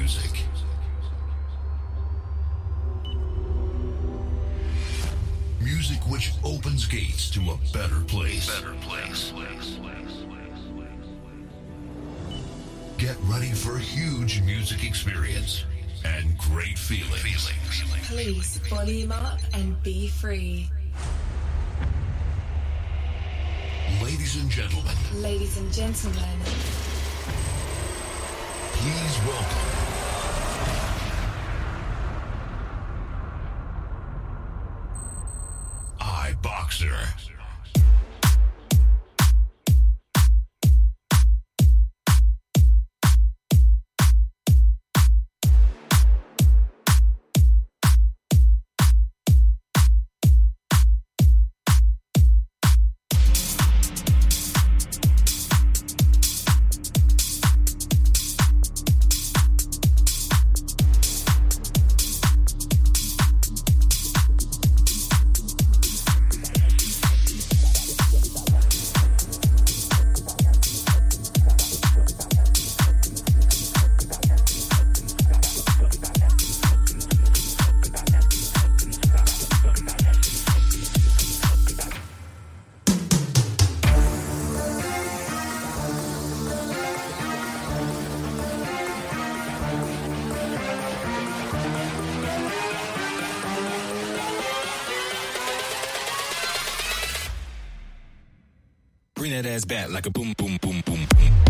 music. Music which opens gates to a better place. Get ready for a huge music experience and great feelings. Please volume up and be free. Ladies and gentlemen. Ladies and gentlemen. Please welcome. iBoxer. Bring that ass back like a boom, boom, boom, boom.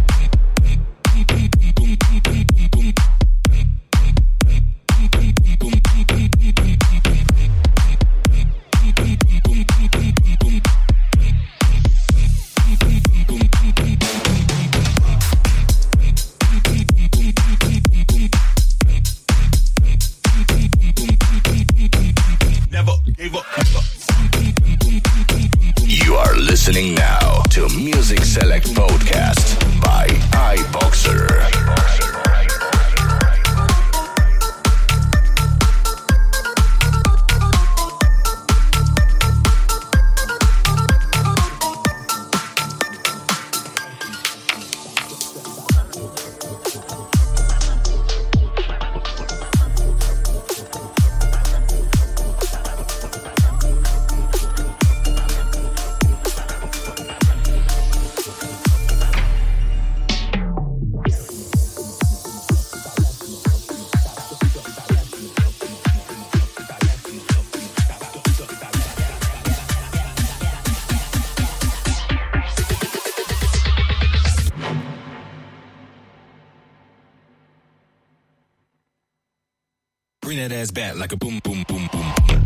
Never gave up. You are listening now to Music Select Podcast by iBoxer. Bring that ass back like a boom, boom, boom, boom.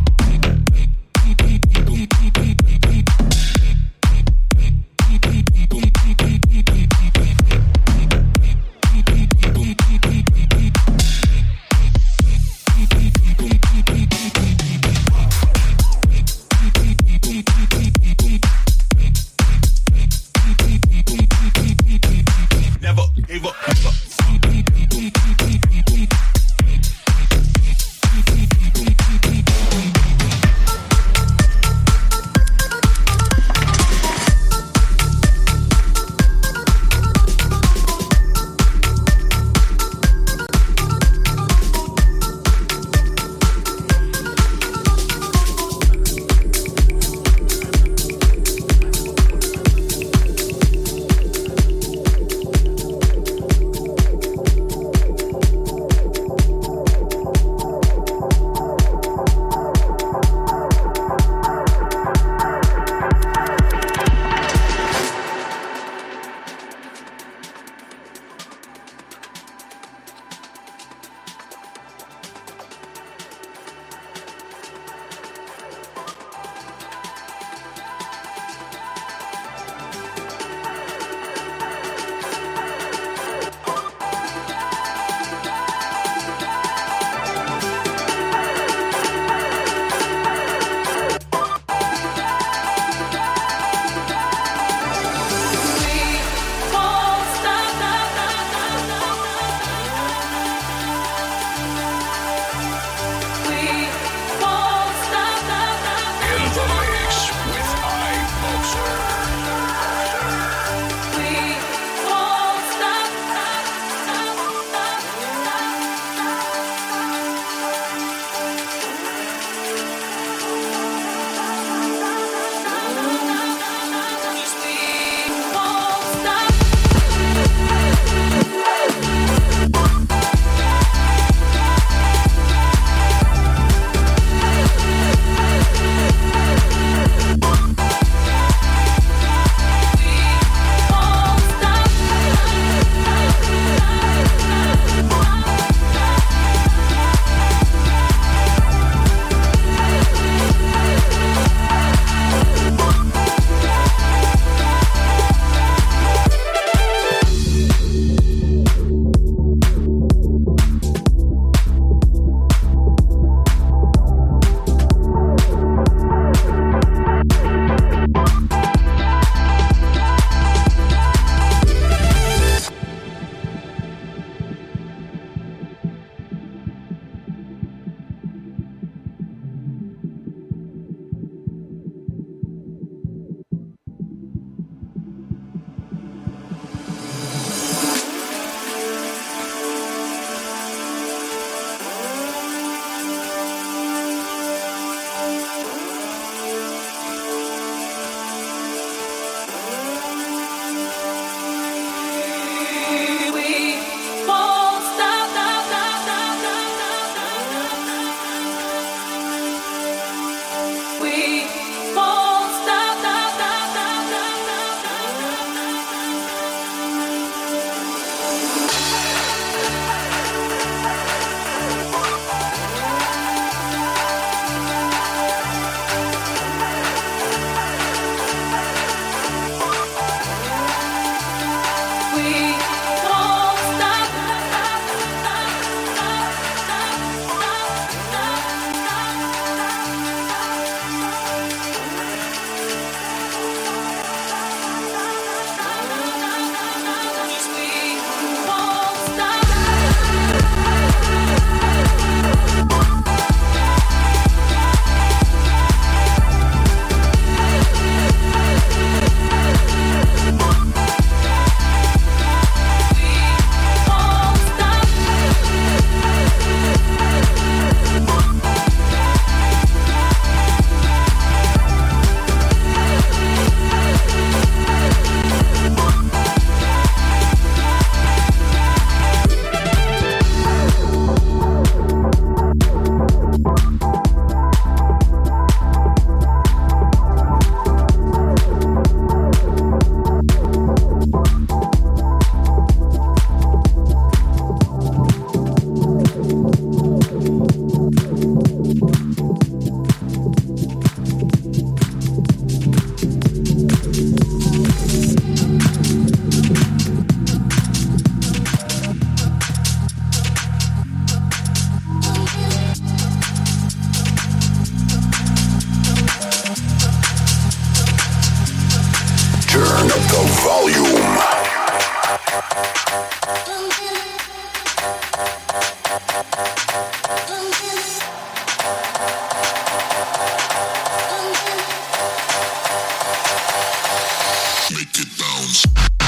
Never gave up. volume. Make it bounce.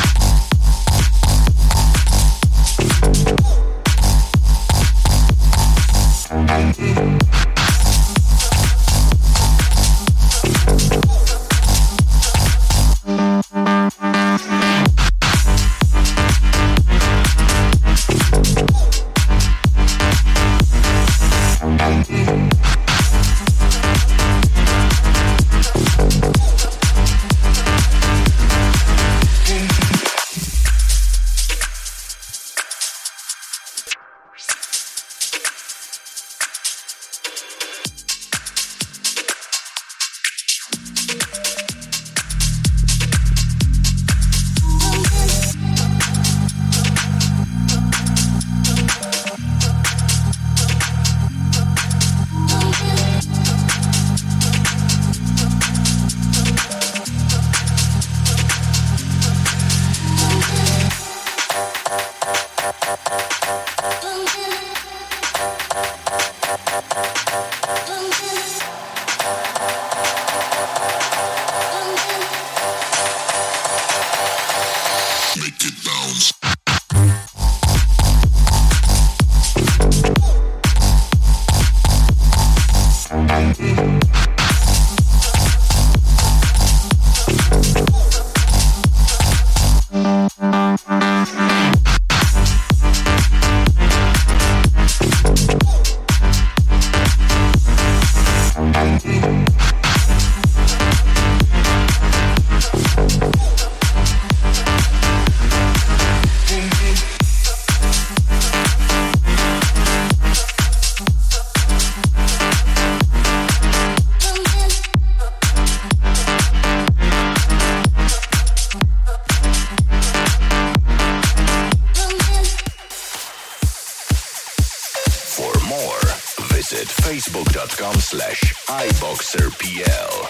Facebook.com/iBoxerPL.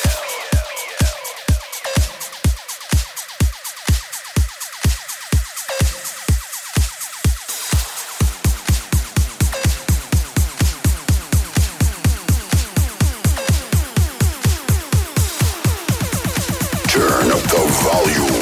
Turn up the volume.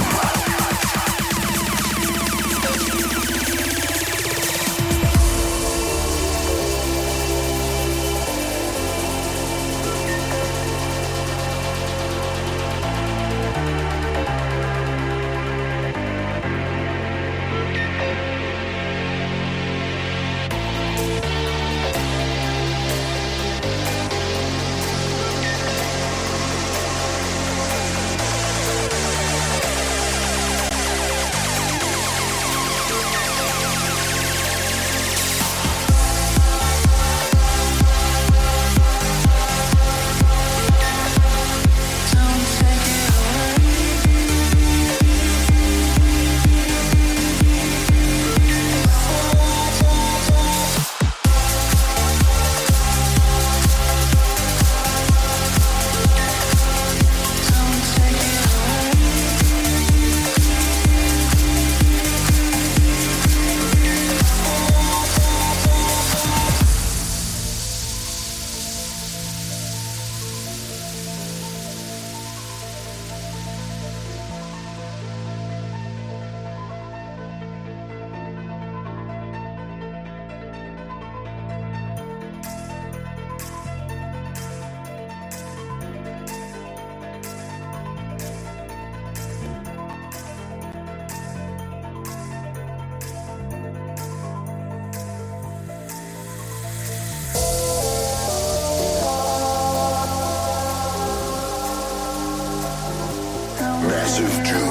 Massive June.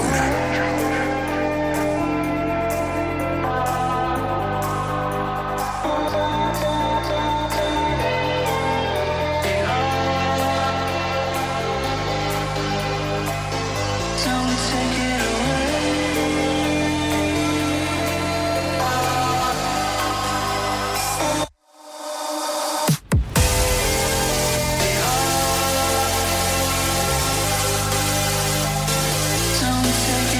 Don't take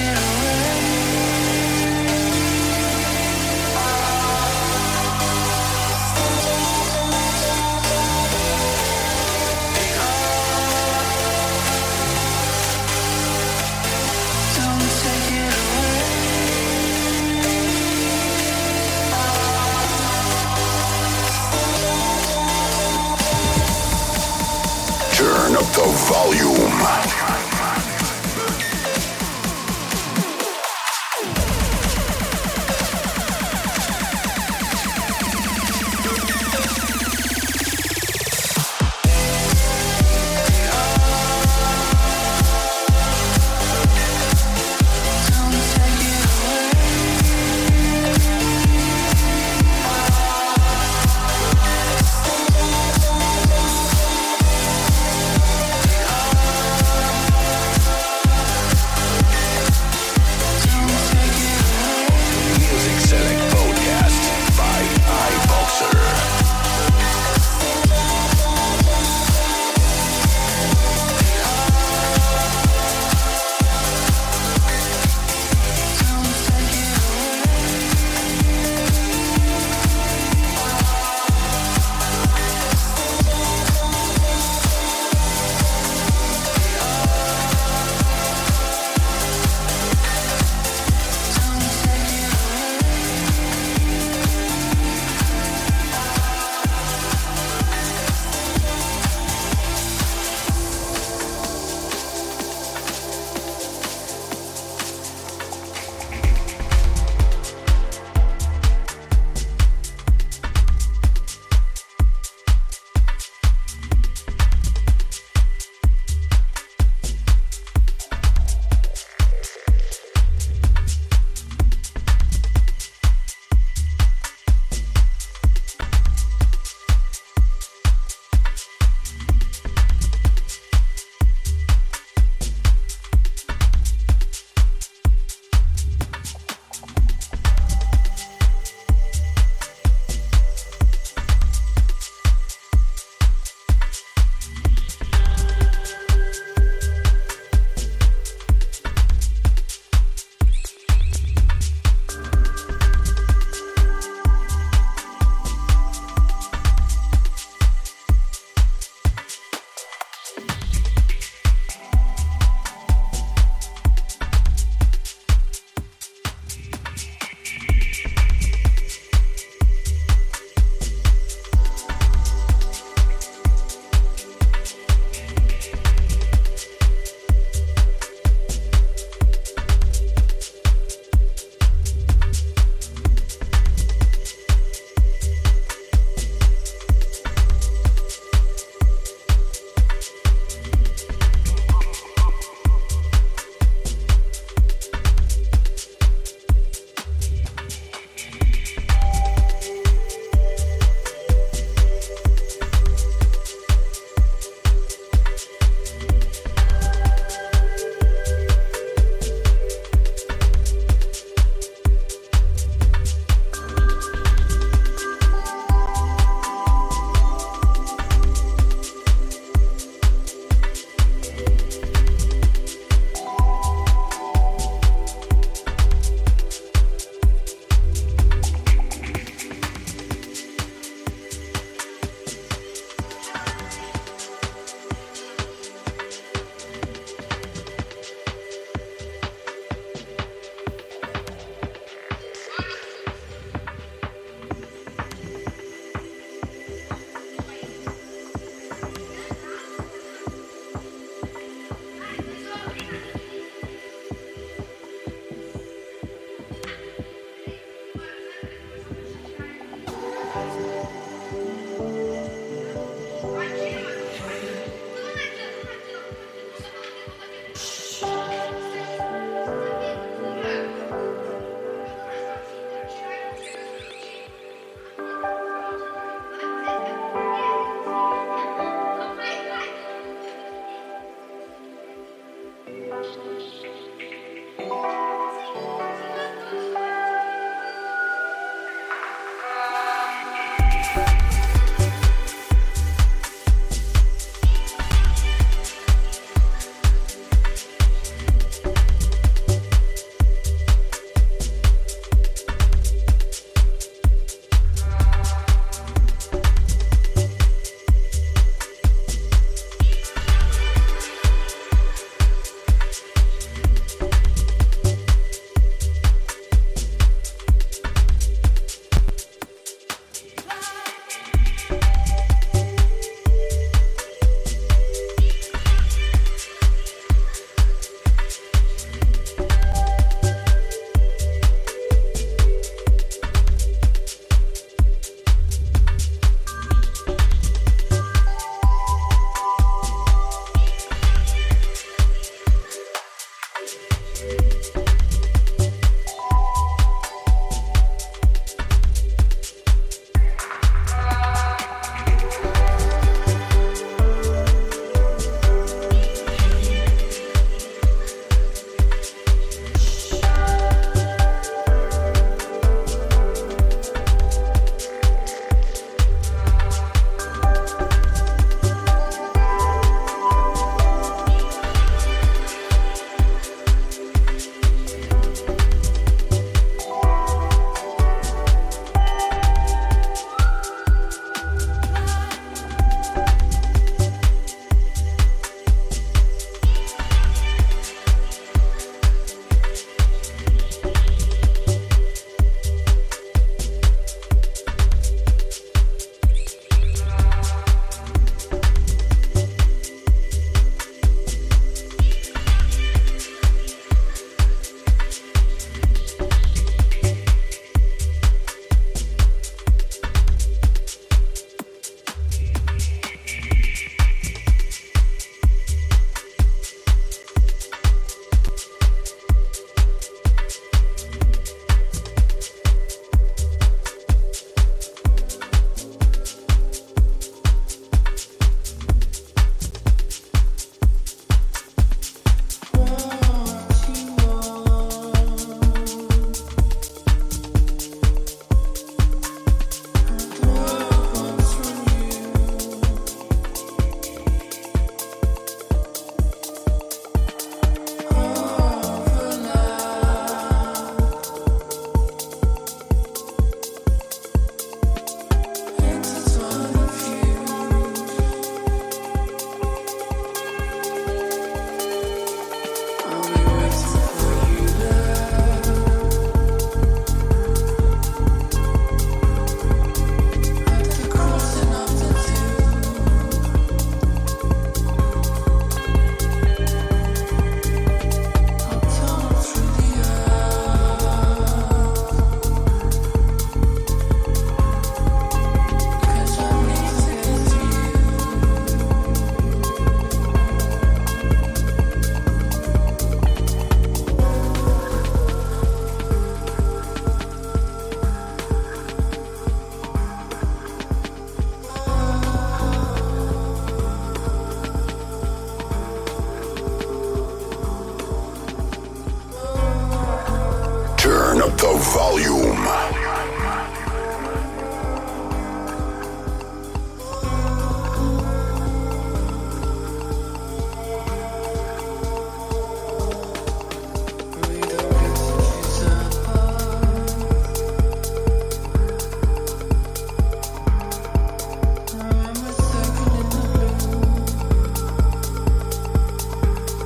the volume.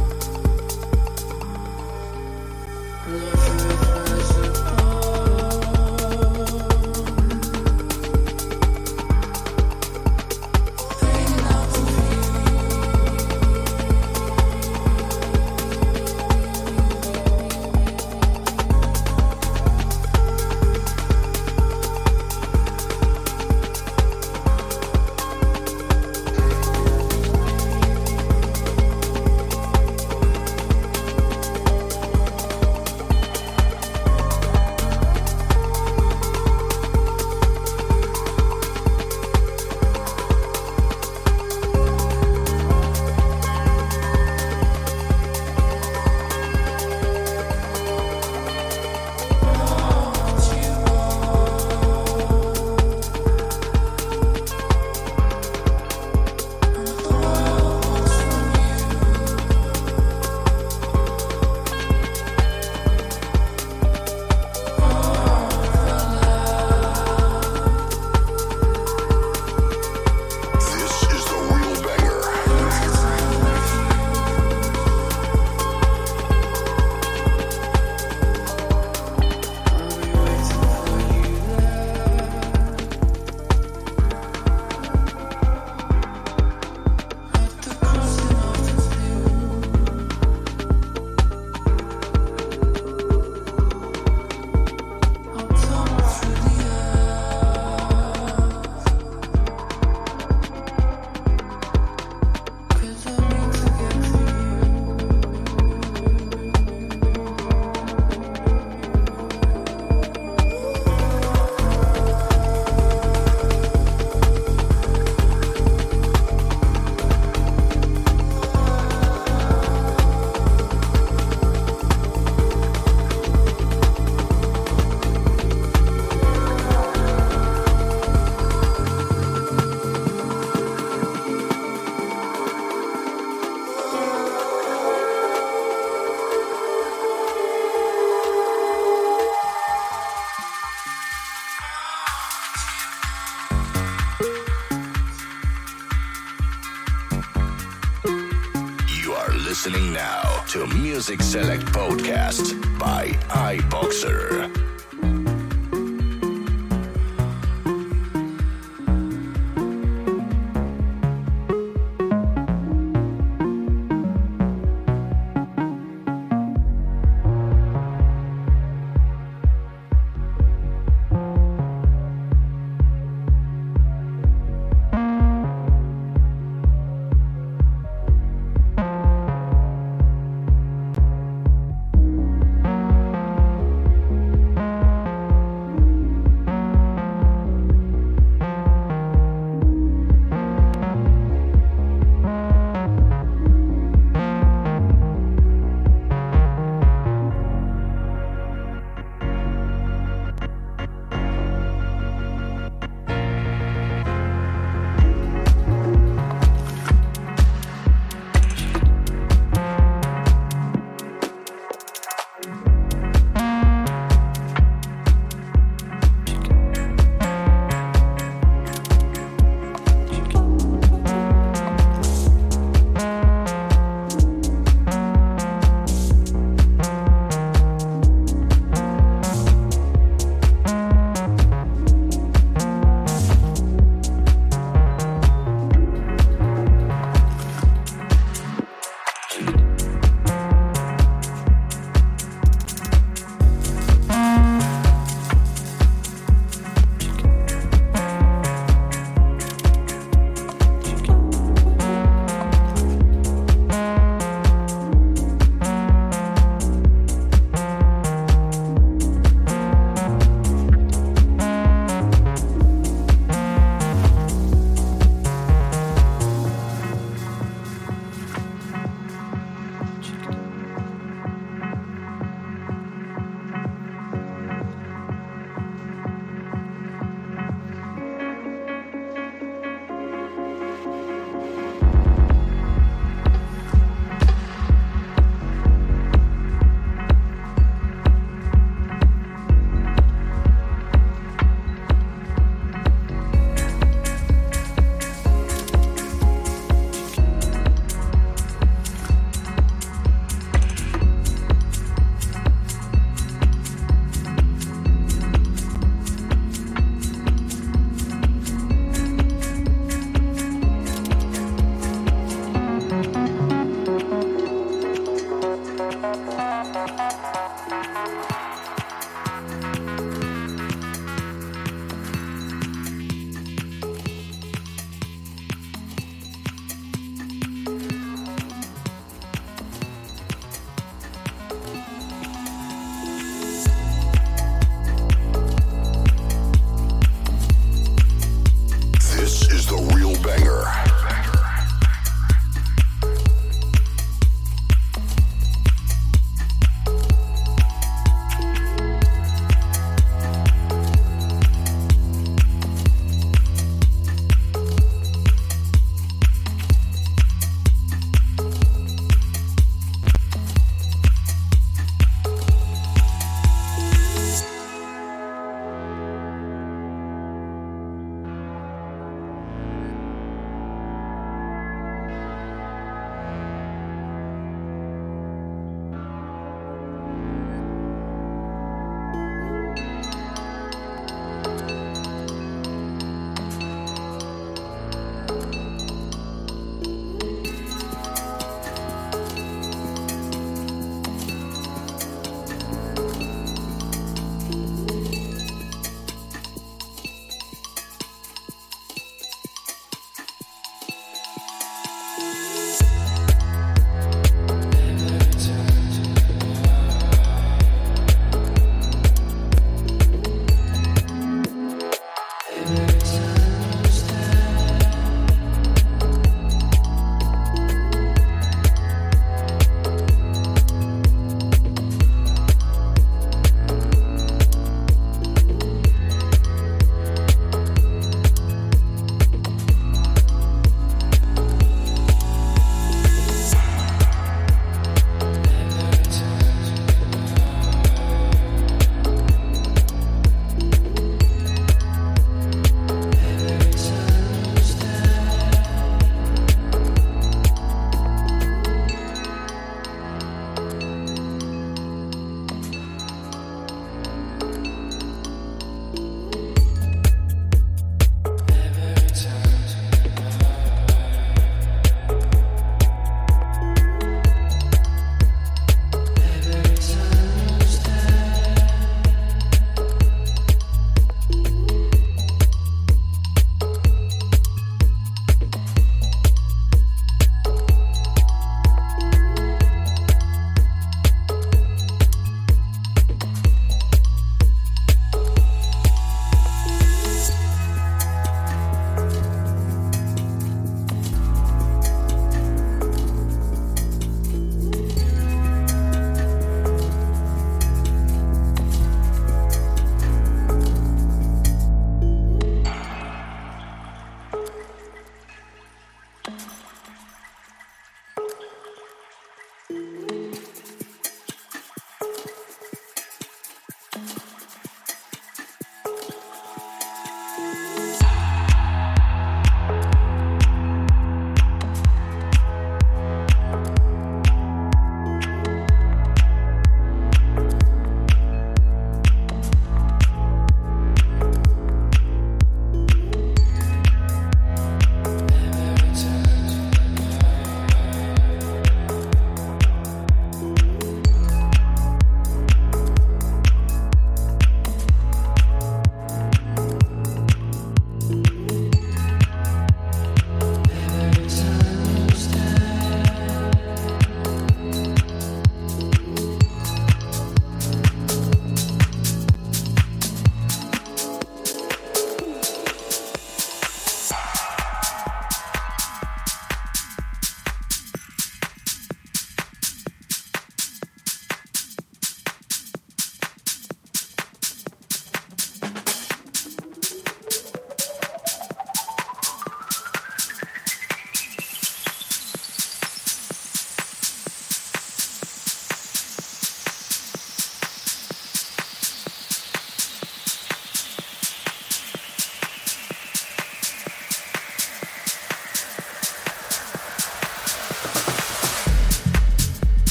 Love listening now to Music Select Podcast by iBoxer.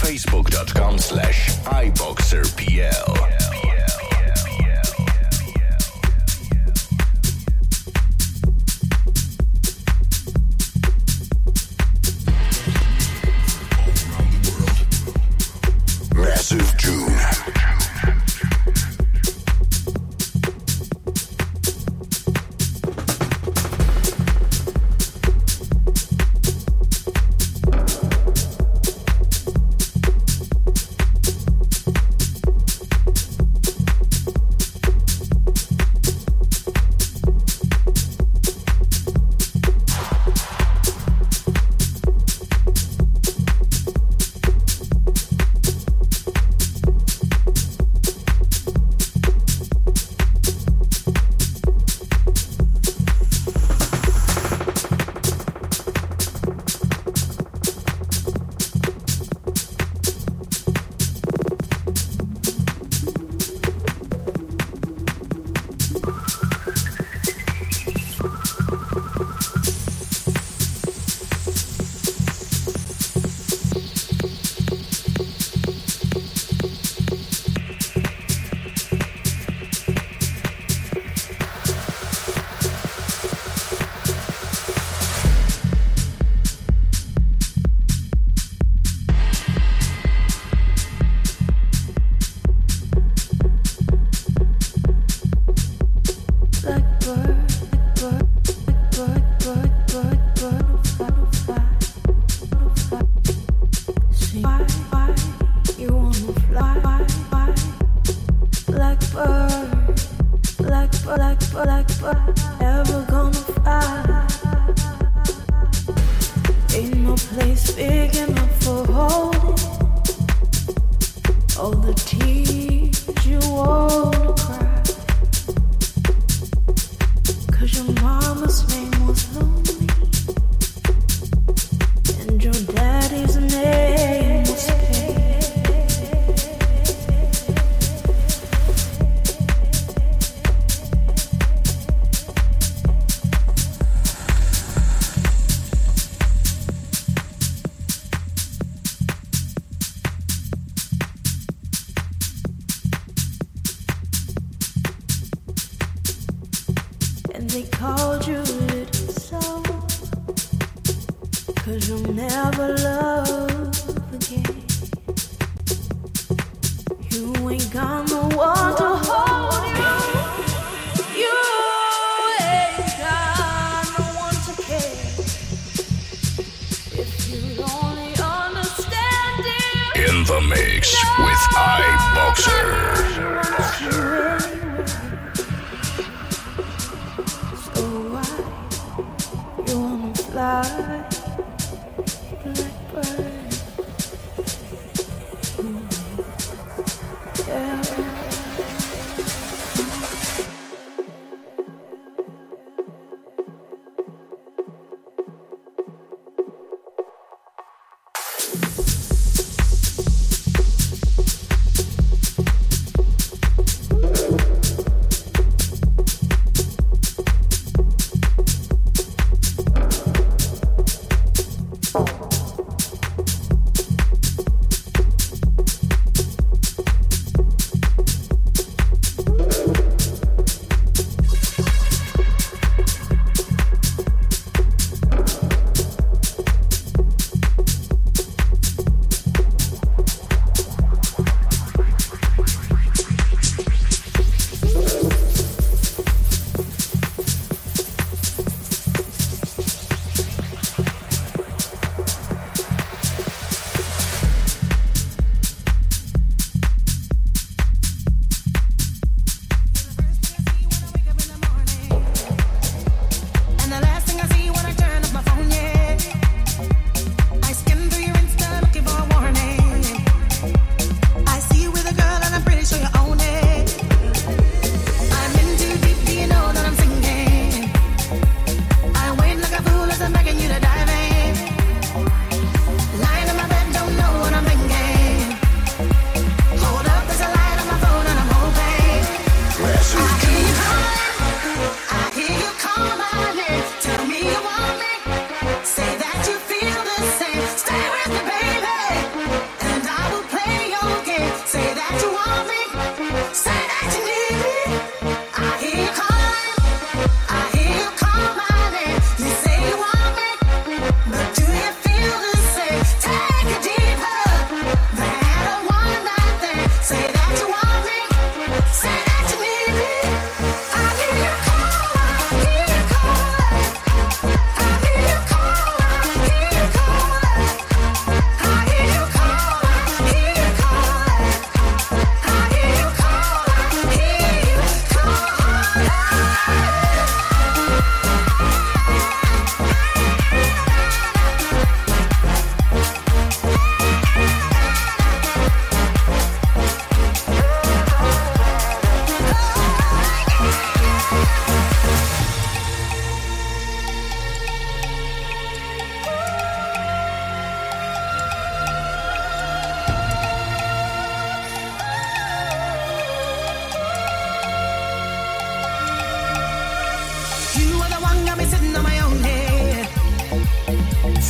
Facebook.com/iBoxerPL. Massive June. In the mix with iBoxer. So why you wanna fly, blackbird? Yeah.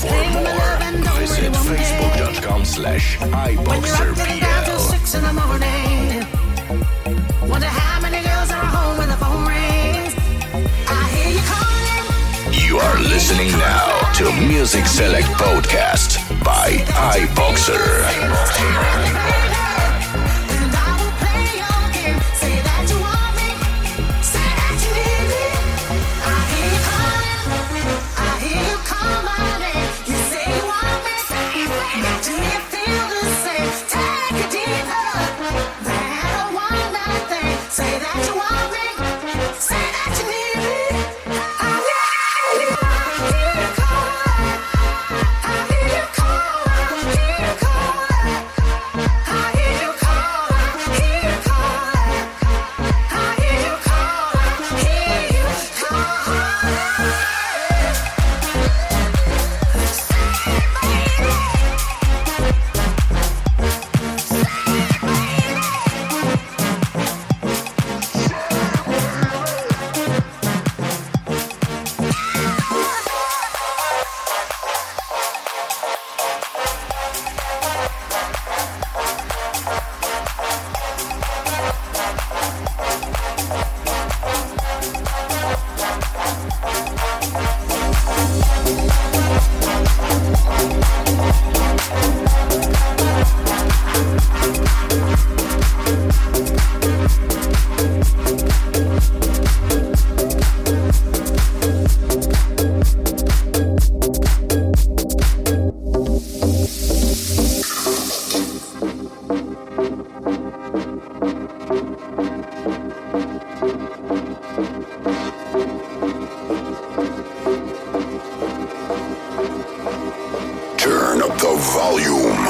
For more, visit facebook.com/iBoxerPL. 6 in the morning. Wonder how many girls are home when the phone rings. I hear you calling. You are listening now to Music Select Podcast by iBoxer. And I will play your game. Say that you want me. Say that you need me. I hear you calling. I hear you call my name. You say you want me. Do you feel the same? Take it deeper than a one night thing. Say that you want me. Say that you need me. I hear you calling. I hear you calling. I hear you calling. I hear you calling. I hear you calling. I hear you calling. Hear you calling. Turn up the volume.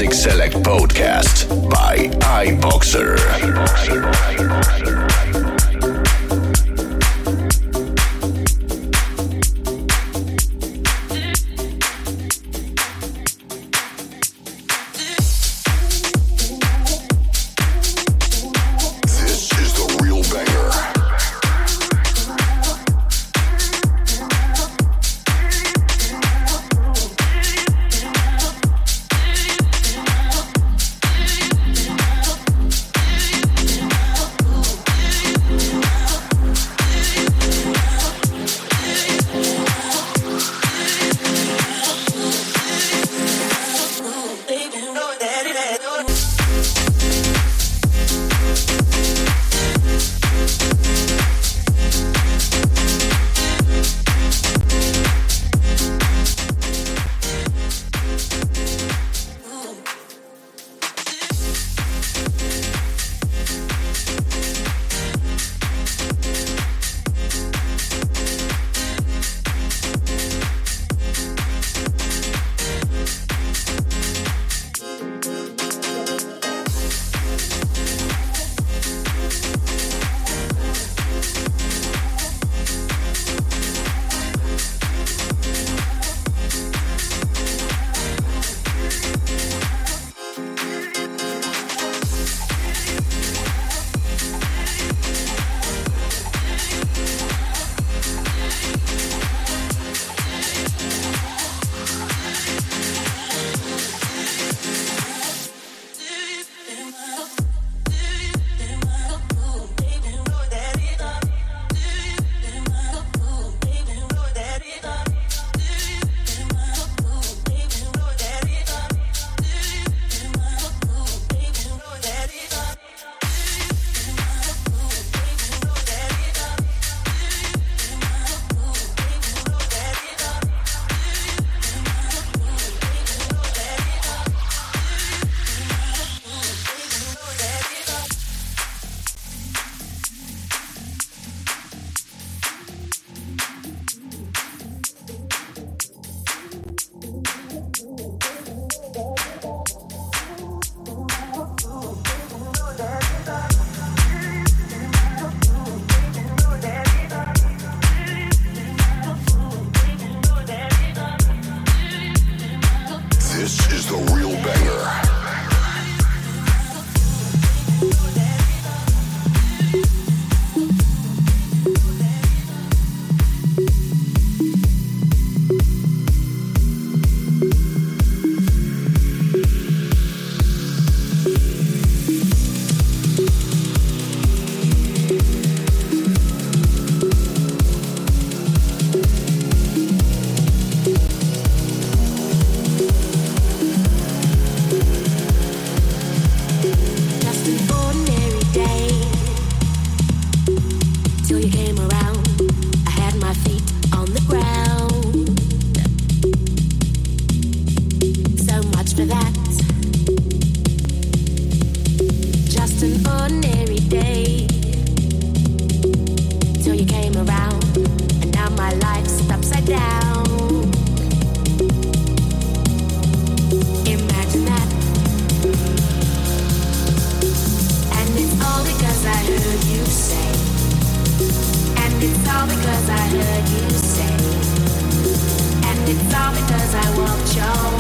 Music Select Podcast by iBoxer.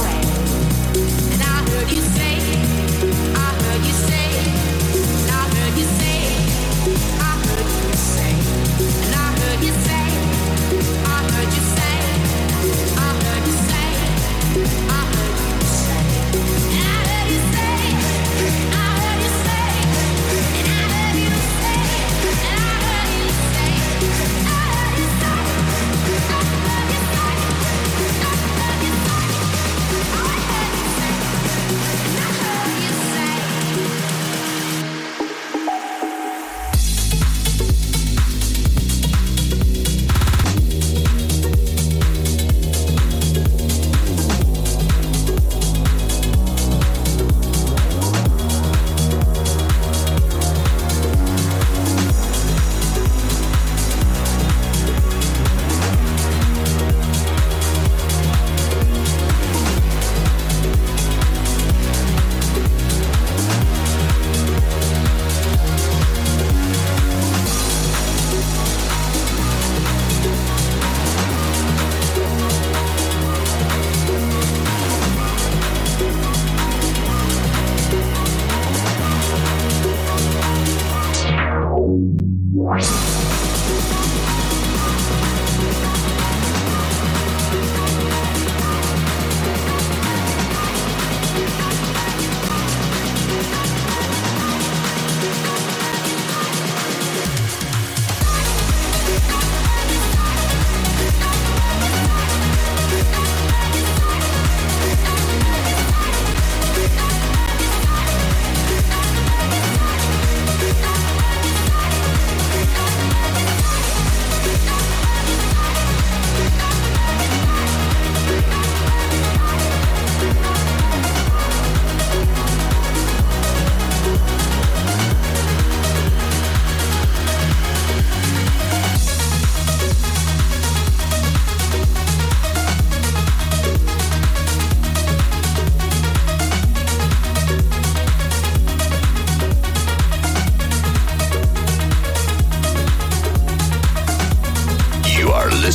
I heard you say, I heard you say, I heard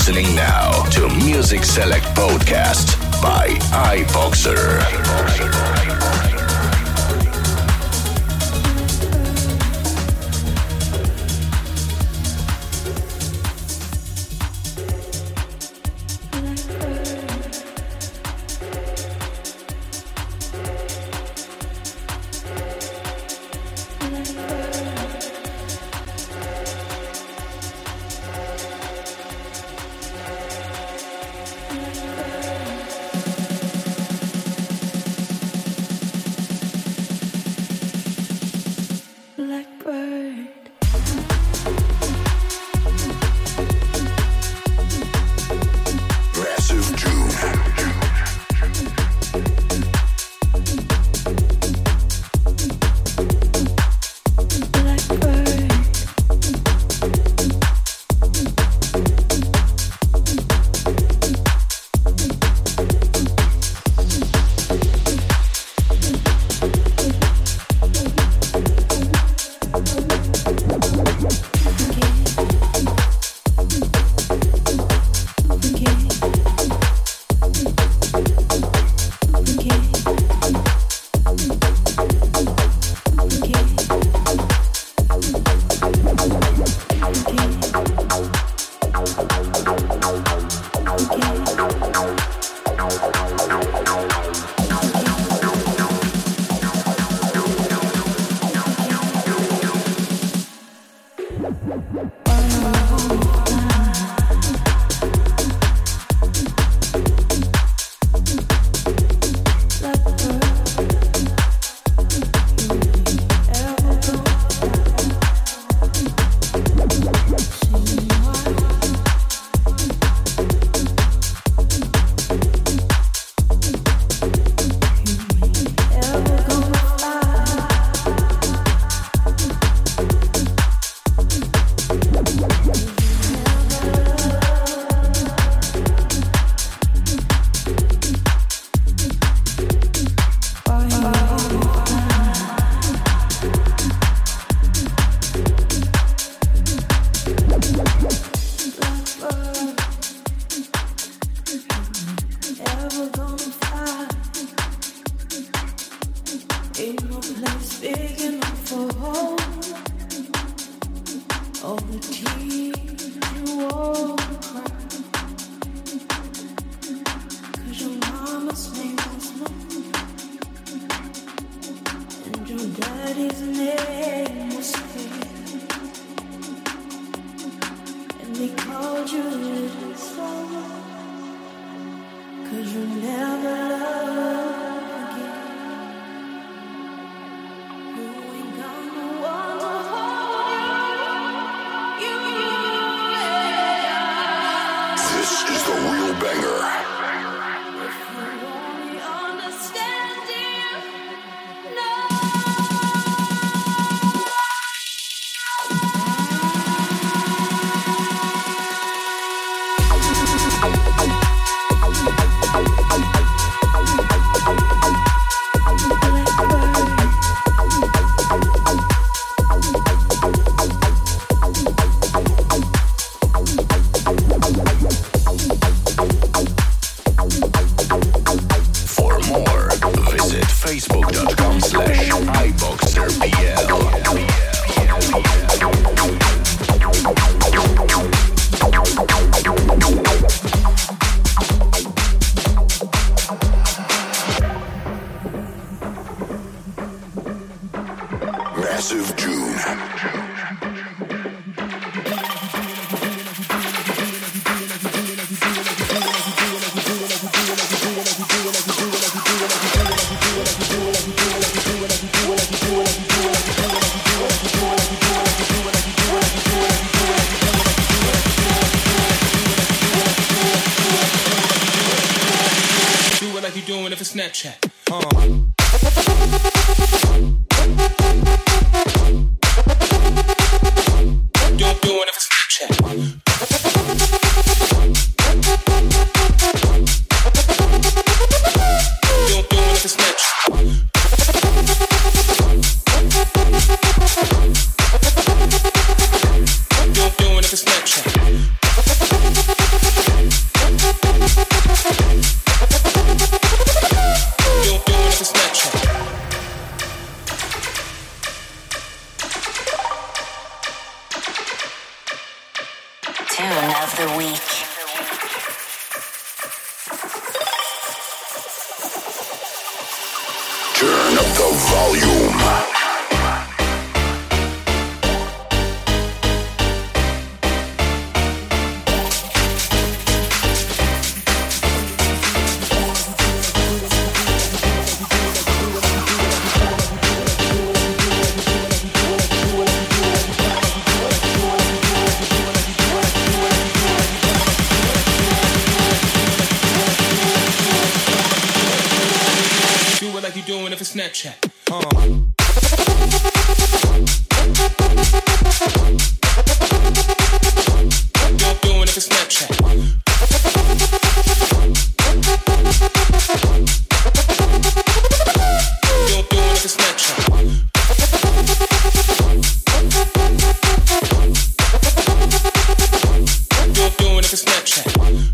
listening now to Music Select Podcast by iBoxer. Snapchat. Don't do it if it's Snapchat. Don't do it if it's Snapchat. Don't do it if it's Snapchat. tune of the week. Turn up the volume. Doing it for Snapchat. You're doing it for Snapchat. You're doing it for Snapchat. You're doing it for Snapchat.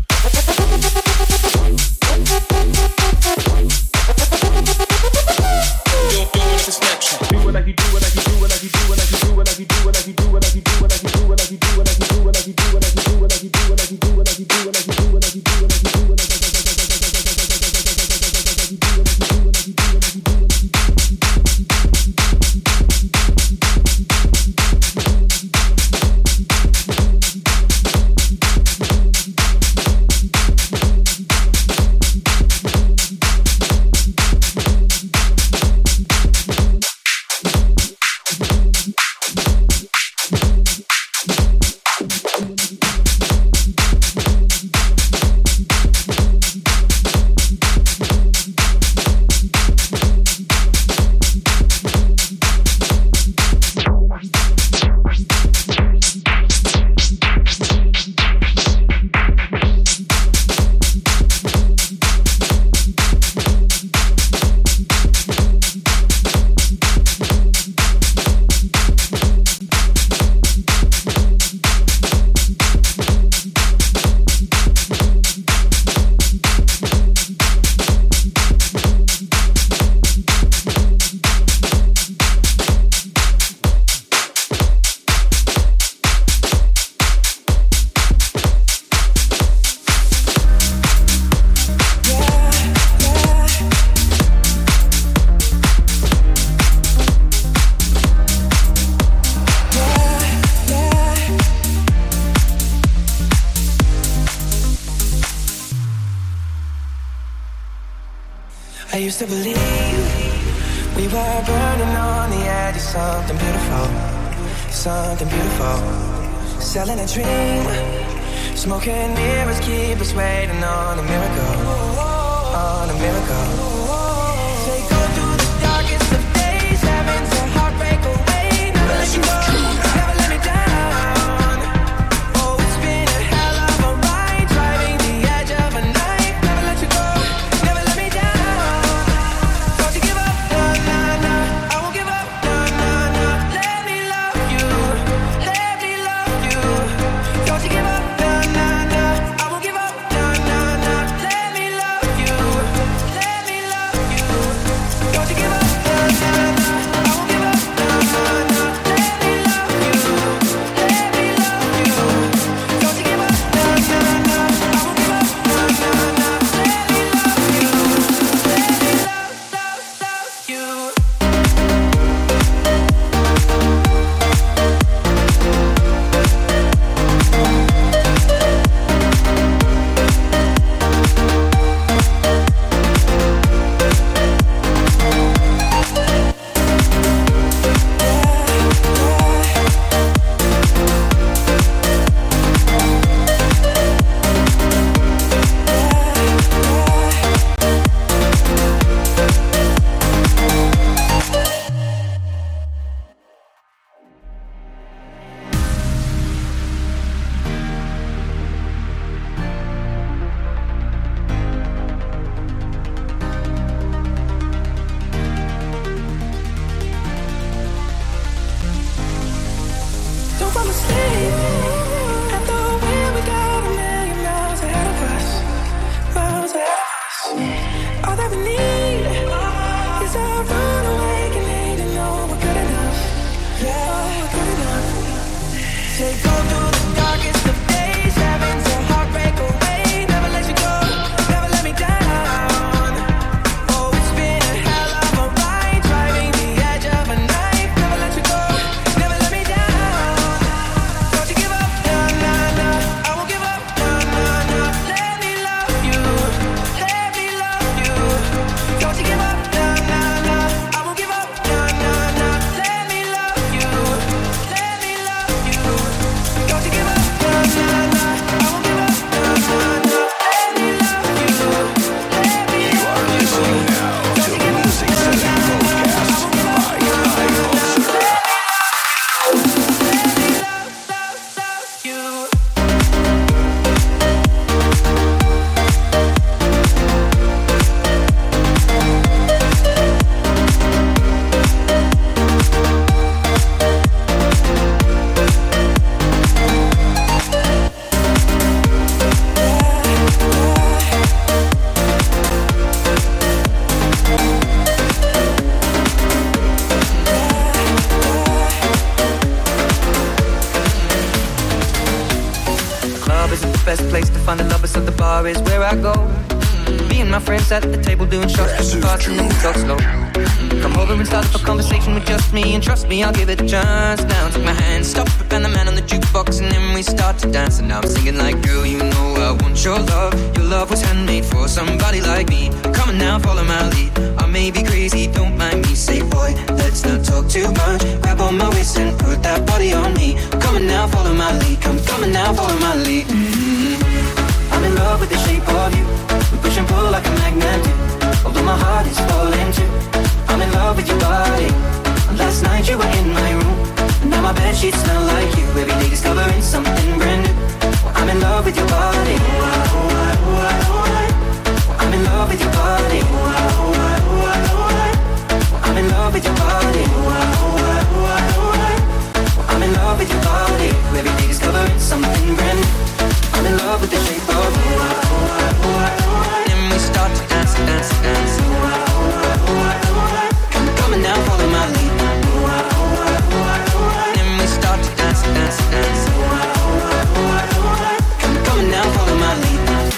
I used to believe we were burning on the edge of something beautiful, something beautiful. Selling a dream, smoking mirrors keep us waiting on a miracle, on a miracle. They go through the darkest of days, having to heartbreak away. Never let you go, never let me down. Oh, it's been a hell of a ride, driving the edge of a knife. Never let you go, never let me down. Don't you give up, nah, nah, nah. I won't give up, nah, nah, nah. Let me love you, let me love you. Don't you give up, nah, nah, nah. I won't give up, nah, nah, nah. Let me love you, let me love you. Don't you give up, nah, nah, nah. I won't give up, nah, nah, nah. Let me love you, let me love you. Don't you give up, nah, nah, nah. I won't give up, nah, nah, nah. Let me love you, let me love you. Don't fall asleep at the wheel. We got a million miles ahead of us, miles ahead of us. All that we need is a run awakening to know we're good enough. Yeah, we're good enough. They go through the darkest of days. best place to find the lovers, so the bar is where I go. Me and my friends at the table doing shots, pushing fast and then we talk slow. Come over and start up a conversation with just me, and trust me, I'll give it a chance. Now take my hand, stop it, and the man on the jukebox, and then we start to dance. And now I'm singing like, girl, you know I want your love. Your love was handmade for somebody like me. Come on now, follow my lead. I may be crazy, don't mind me. Say, boy, let's not talk too much. Grab on my waist and put that body on me. Come on now, follow my lead. Come on now, follow my lead. I'm in love with the shape of you. We push and pull like a magnet do. Although my heart is falling too. I'm in love with your body. Last night you were in my room, and now my bedsheets smell like you. Every day discovering something brand new. I'm in love with your body. I'm in love with your body. I'm in love with your body. I'm in love with your body. Every day discovering something brand new. I'm in love with the shape of you. And we start to dance, dance, dance. Come on now, follow my lead. And we start to dance, dance, dance. Come on now, follow my lead.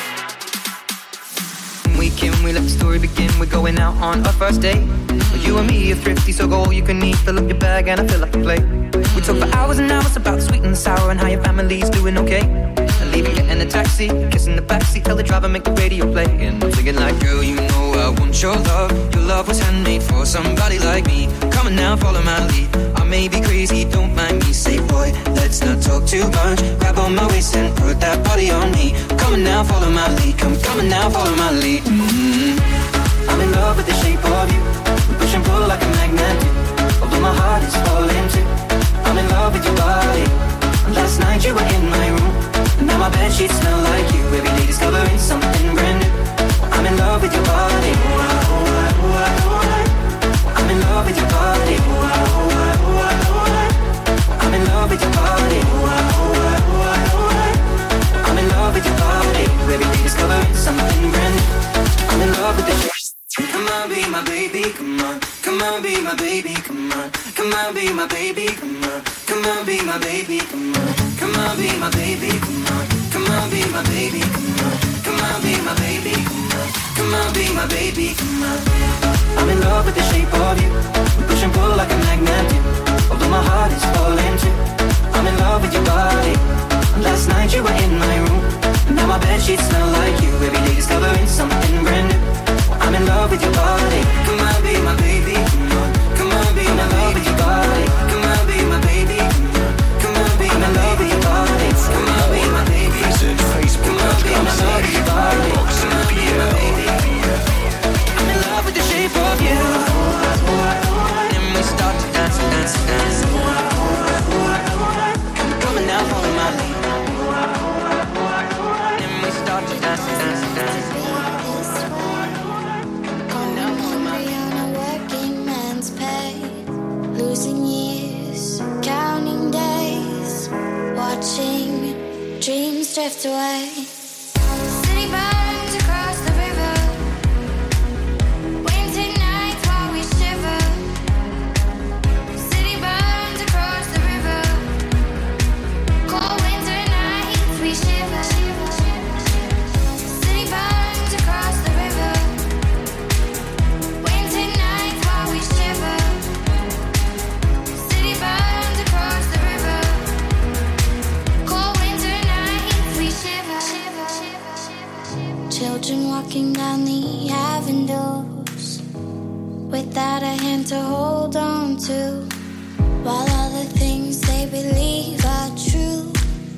We let the story begin. We're going out on our first date. You and me are thrifty, so go all you can eat. Fill up your bag and I fill up the plate. We talk for hours and hours about the sweet and the sour and how your family's doing okay. And leaving, getting a taxi, kissing the backseat, tell the driver make the radio play. And I'm singing like, girl, you know I want your love. Your love was handmade for somebody like me. Come on now, follow my lead. I may be crazy, don't mind me. Say, boy, let's not talk too much. Grab on my waist and put that body on me. Come on now, follow my lead. Come on now, follow my lead. I'm in love with the shape of you. We push and pull like a magnet do. Although my heart is falling too. I'm in love with your body. Last night you were in my room, and now my bedsheets smell like you. Every day discovering something brand new. I'm in love with your body. I'm in love with your body. I'm in love with your body. I'm in love with your body. Every day discovering something brand new. I'm in love with the shape. Come on, be my baby, come on. Come on, be my baby, come on. Come on, be my baby, come on. Come on, be my baby, come on. Come on, be my baby, come on. Come on, be my baby, come on. Come on, be my baby, come on. Come on, be my baby, come on. I'm in love with the shape of you. We push and pull like a magnet do. Although my heart is falling too. I'm in love with your body. Last night you were in my room, and now my bedsheets smell like you. Every day discovering something brand new. I'm in love with your body. Come on, be my baby. Come on, come on, be my love with your body. Come on, be my baby. Come on, come on, be my love with your body. Come on, be my baby. Visit Facebook.com/iBox and PL. I'm in love with the shape of you. And we start to dance, dance, dance. Come on now, follow my lead. And we start to dance, dance, dance. Losing years, counting days, watching dreams drift away. City burns across the river, winter nights while we shiver. City burns across the river, cold winter nights we shiver. City burns across the river, winter nights while we shiver. Burns across the river, cold winter nights we shiver. Children walking down the avenues without a hand to hold on to, while all the things they believe are true.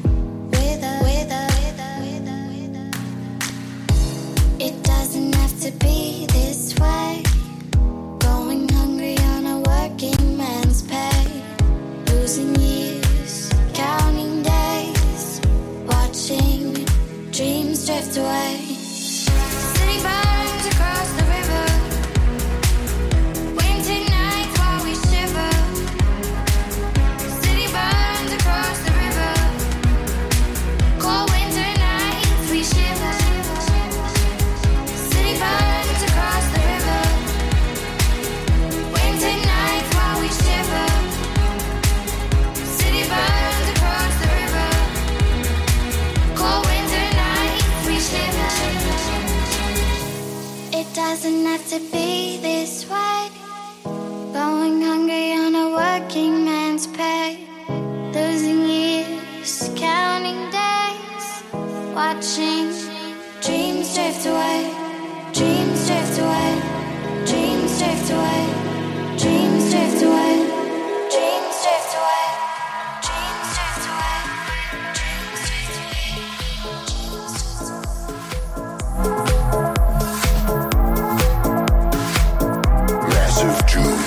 It doesn't have to be this way. Going hungry on a working man's pay. Losing years, counting days, watching dreams drift away. City burns across the river, winter nights while we shiver. have to be this way. Going hungry on a working man's pay. Losing years, counting days. Watching dreams drift away. Dreams drift away. Dreams drift away. Dreams drift away. Dreams drift away. Dreams drift away. Dreams drift away. Massive June.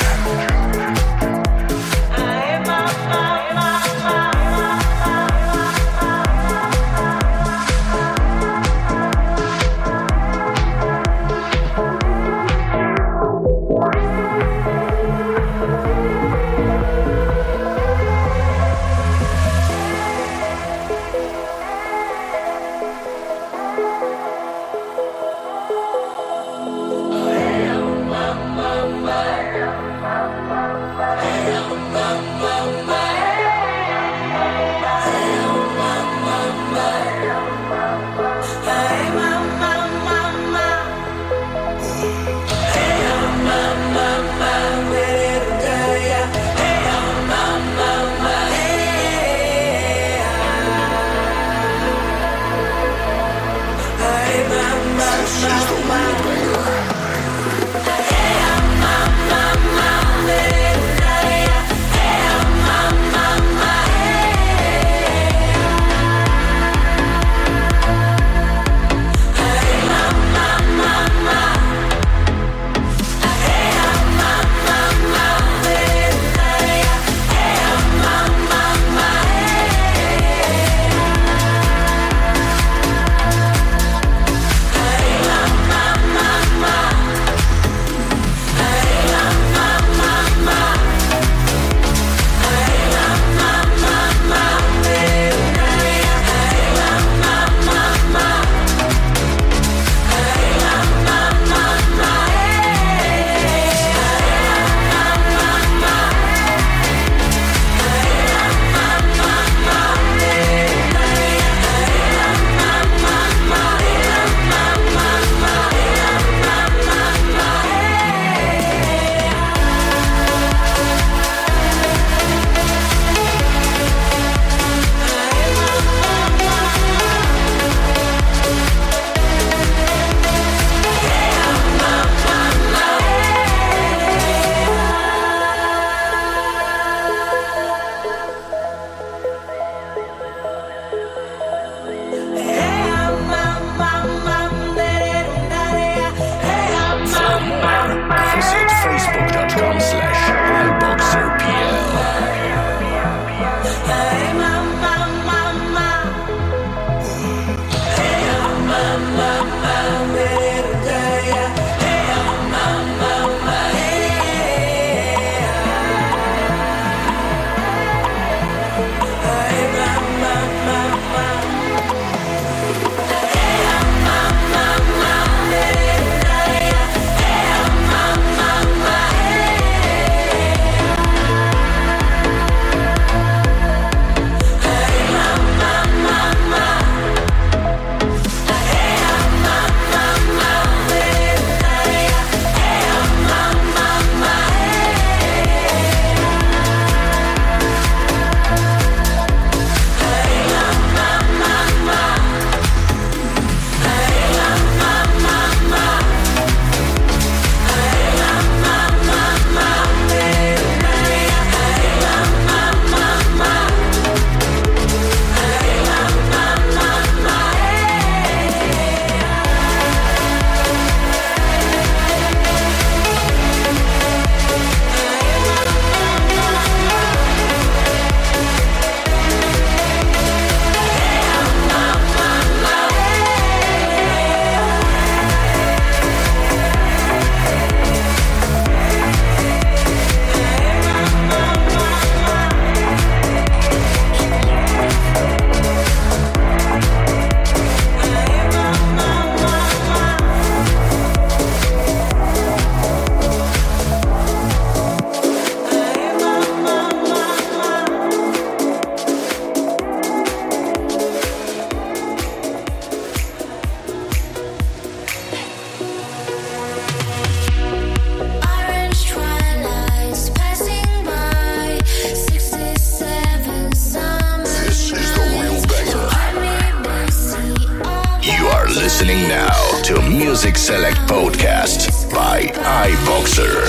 listening now to Music Select Podcast by iBoxer.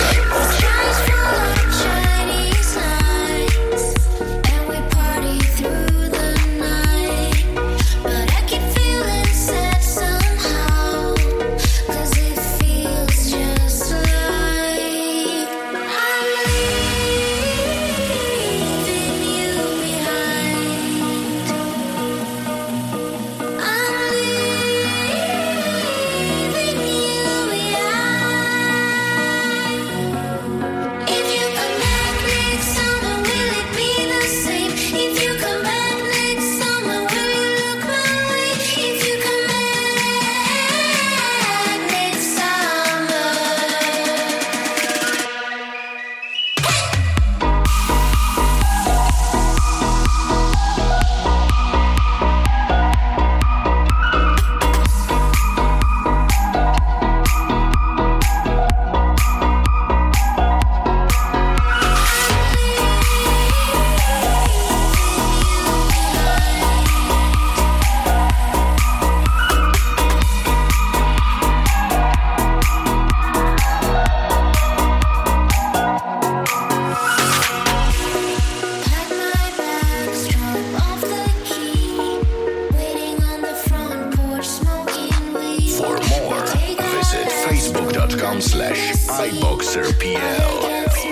iBoxerPL.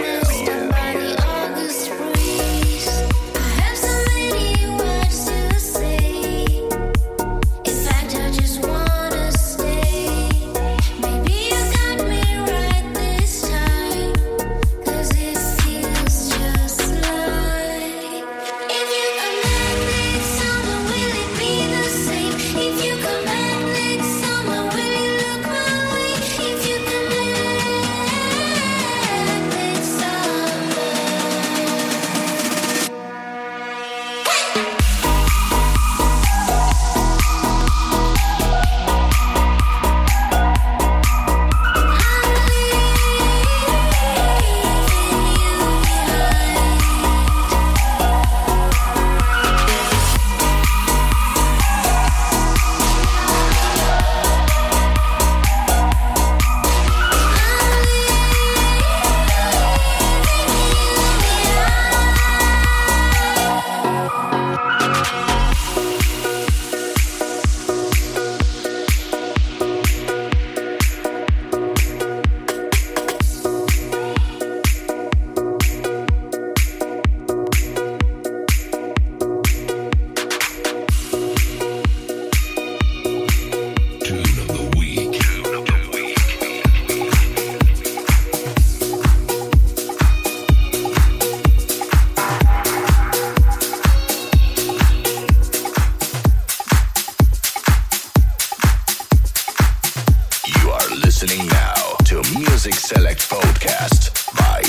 Listening now to Music Select Podcast by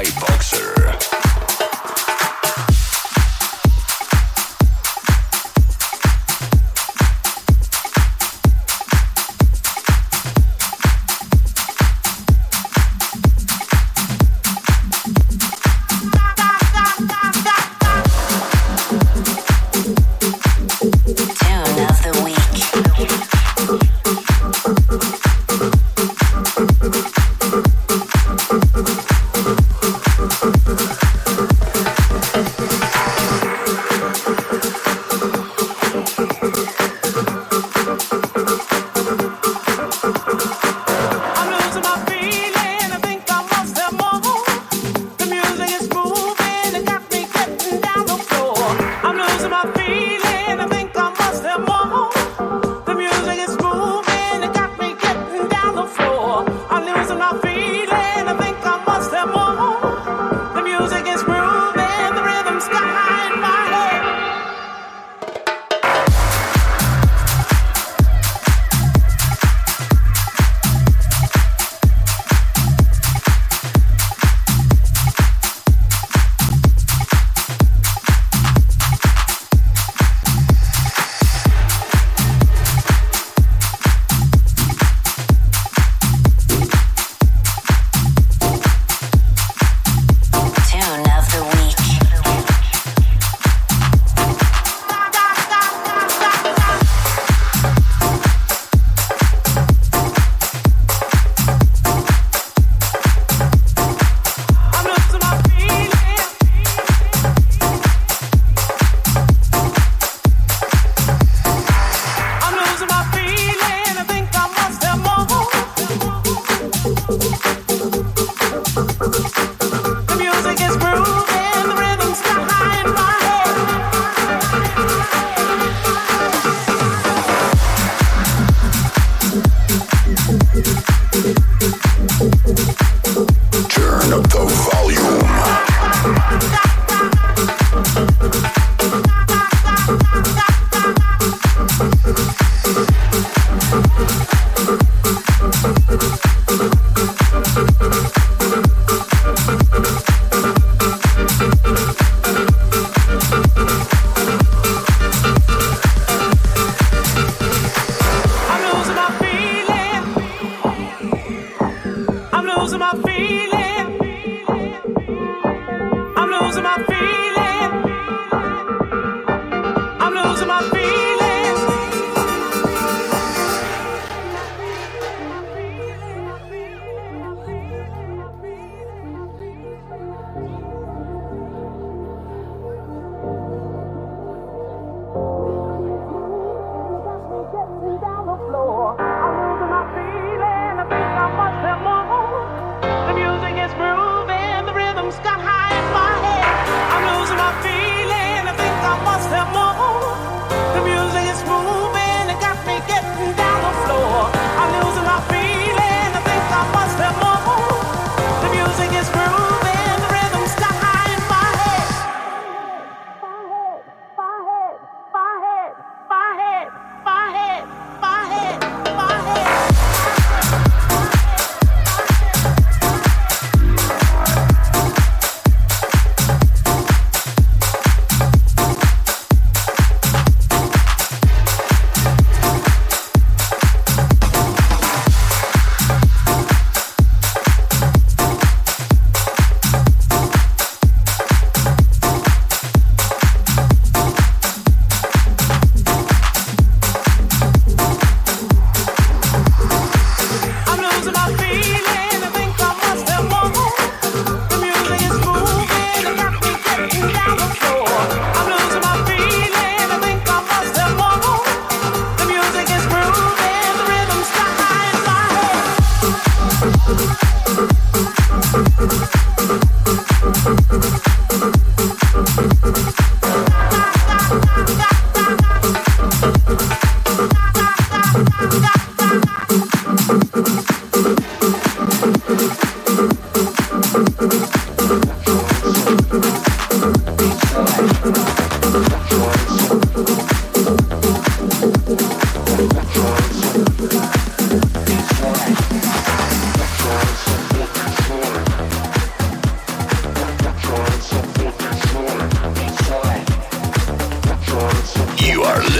iBoxer. Tune of the week.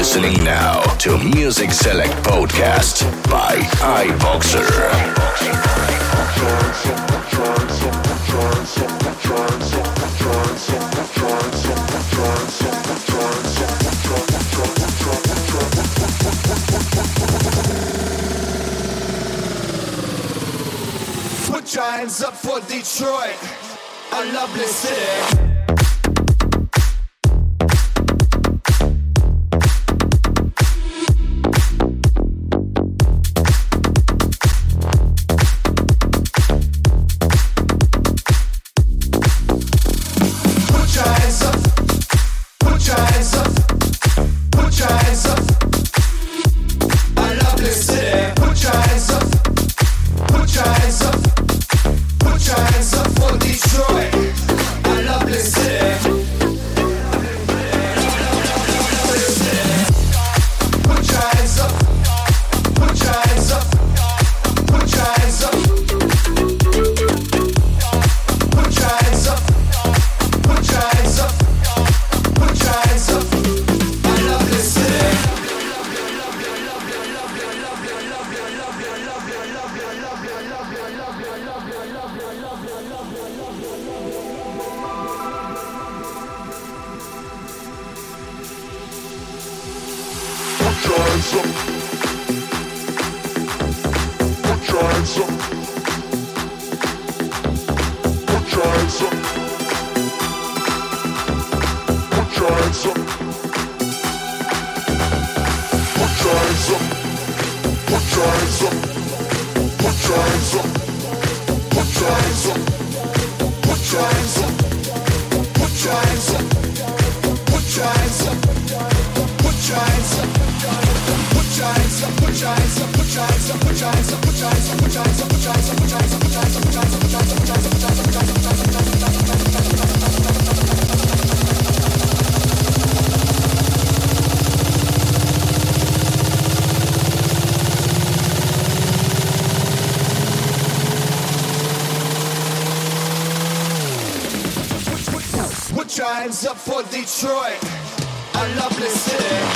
listening now to Music Select Podcast by iBoxer. Put your hands up for Detroit, a lovely city. Put your hands up for Detroit, a lovely city.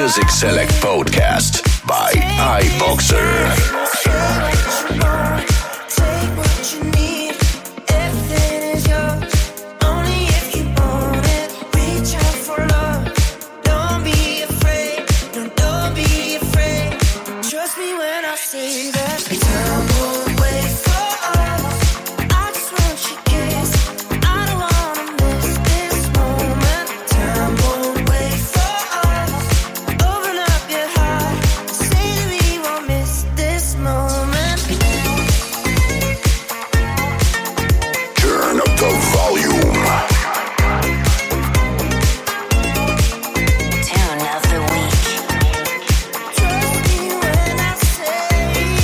Music Select Podcast by iBoxer. Take what you need. Everything is yours. Only if you want it. Reach out for love. Don't be afraid. No, don't be afraid. Trust me when I say that. Time won't wait for us. I just want your kiss. I don't wanna miss this moment. Time won't wait for us. Open up your heart. Say that we won't miss this moment. Turn up the volume. Tune of the week. Trust me when I say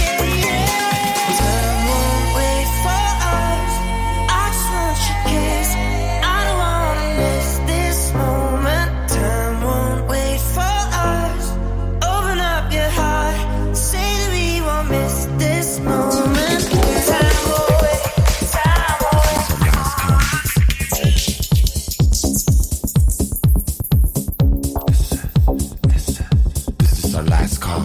time won't wait for us. I just want your kiss. I don't wanna miss this moment. Time won't wait for us. Open up your heart. Say that we won't miss this moment. Time won't wait. Time won't wait. This is our last call.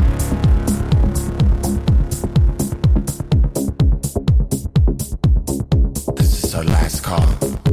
This is our last call.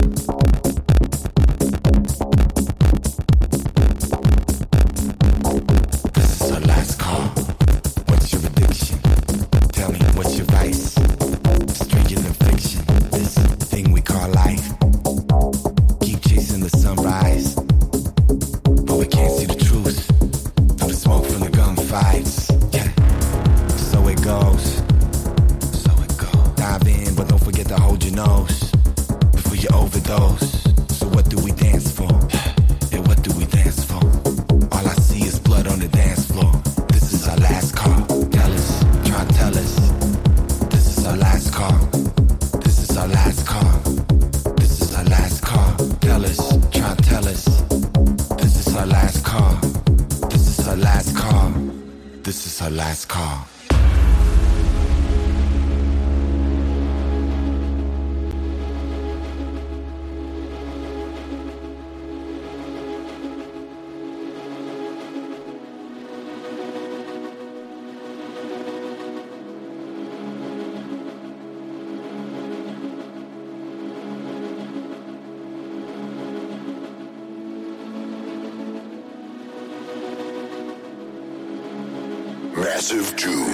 This is our last call. What's your addiction? Tell me, what's your vice? Stranger than fiction. This thing we call life. Keep chasing the sunrise, but we can't see the truth through the smoke from the gunfights. Yeah, so it goes. So it goes. Dive in, but don't forget to hold your nose before you overdose. So what do we dance for? And what do we dance for? All I see is blood on the dance floor. This is our last call. Tell us, try and tell us. This is our last call. This is our last call. This is our last call. Tell us, try and tell us. This is our last call. This is our last call. This is our last call. Massive June.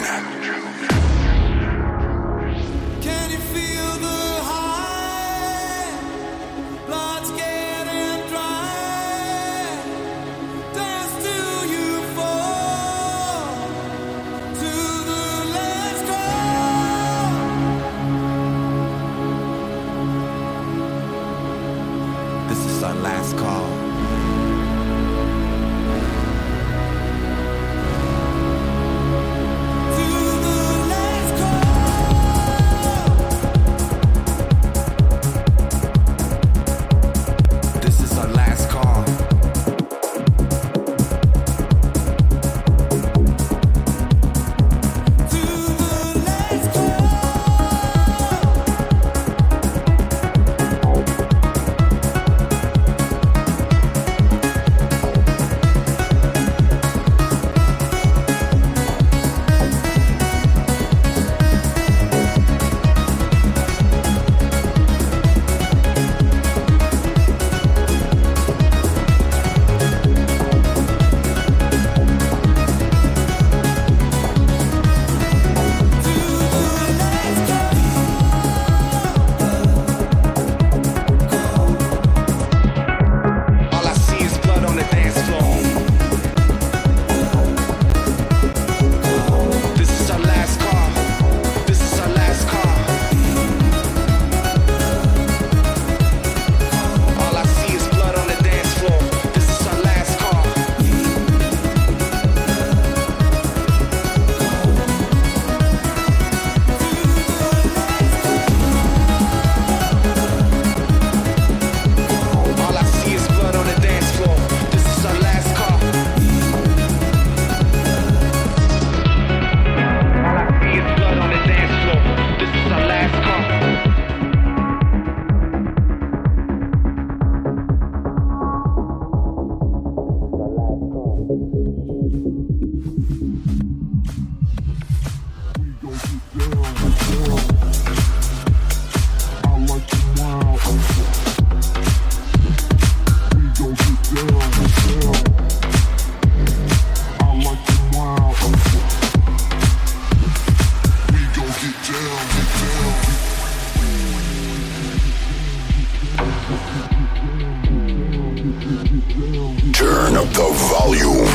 Can you feel the high? Blood's getting dry. Dance till you fall to the last call. This is our last call. To the last call. This is our last call. To the last call. up the volume.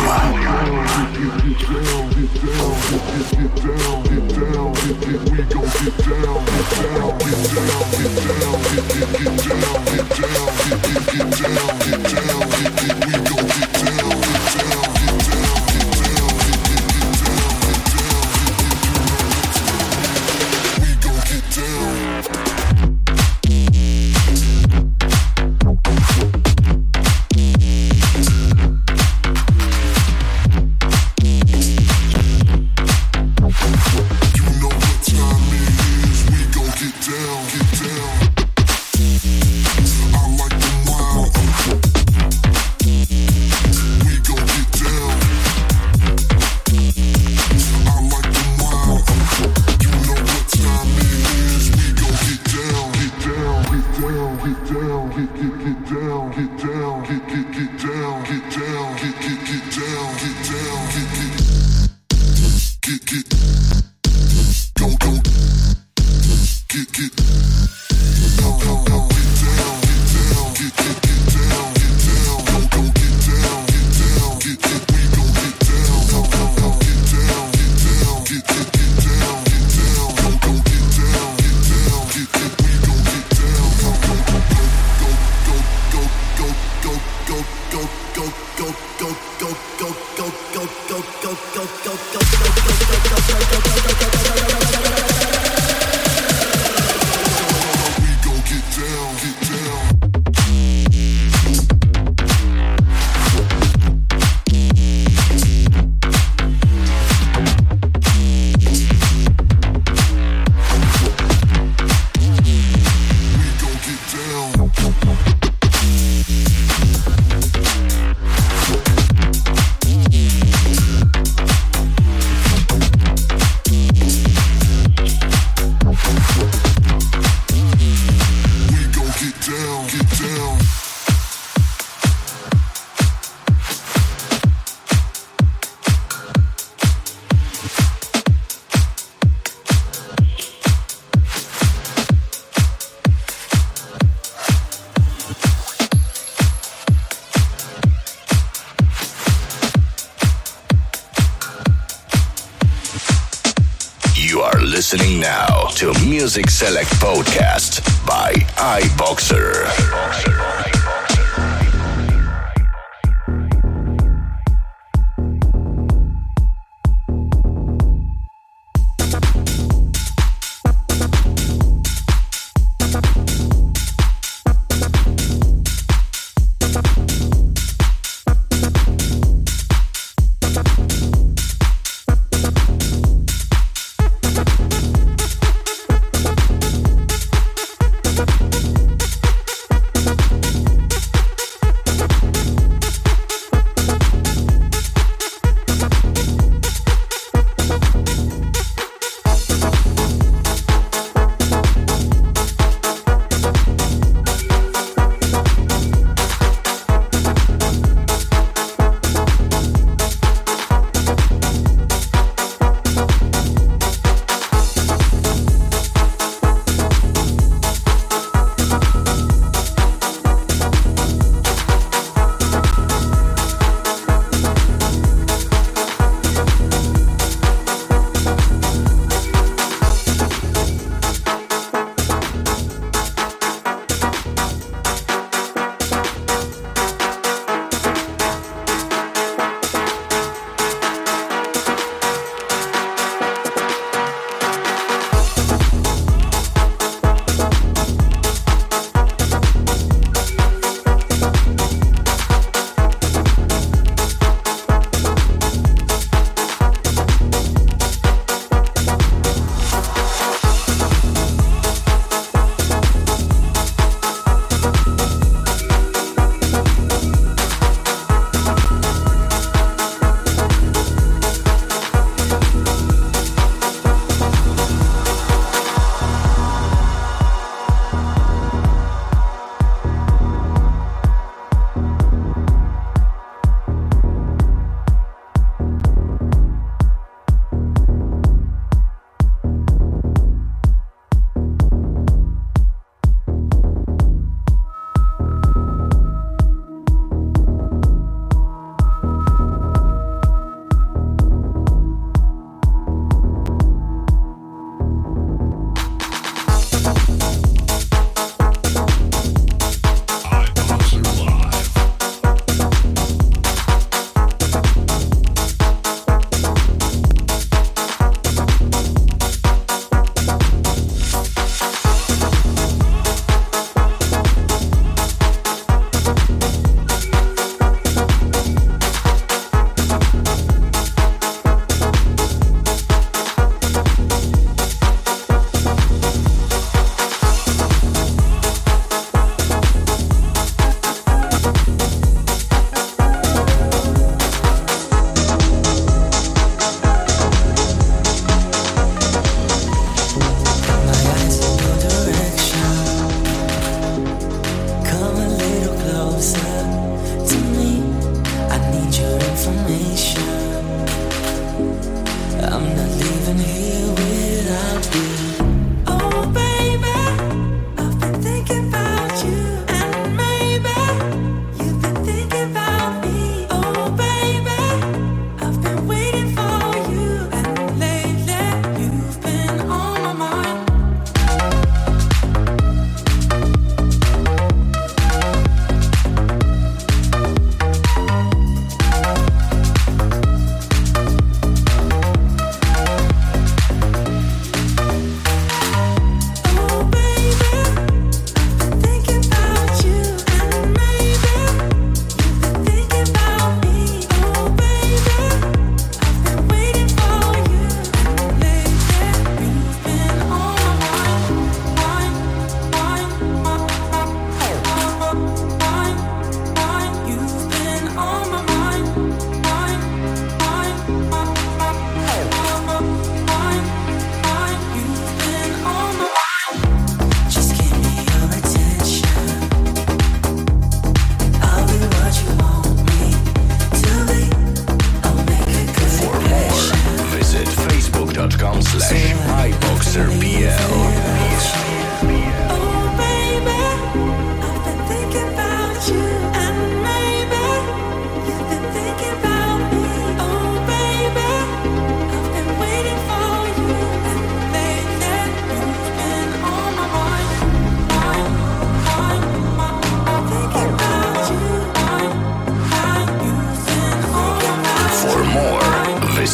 Listening now to Music Select Podcast by iBoxer.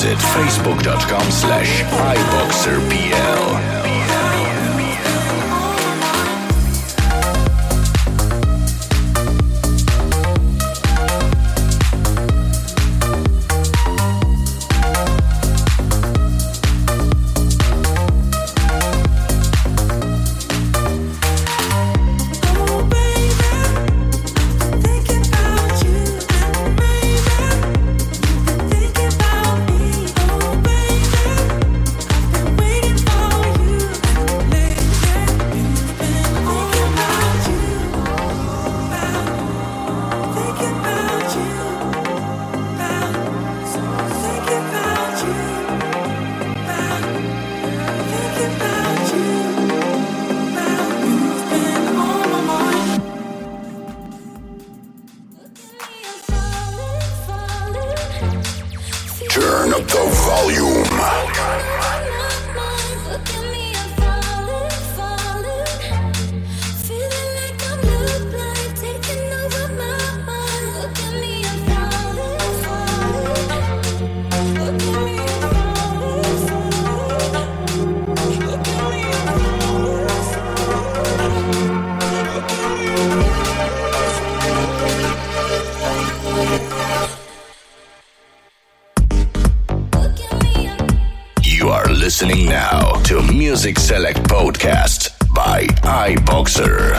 Visit facebook.com/iboxerpl. Turn up the volume. Listening now to Music Select Podcast by iBoxer.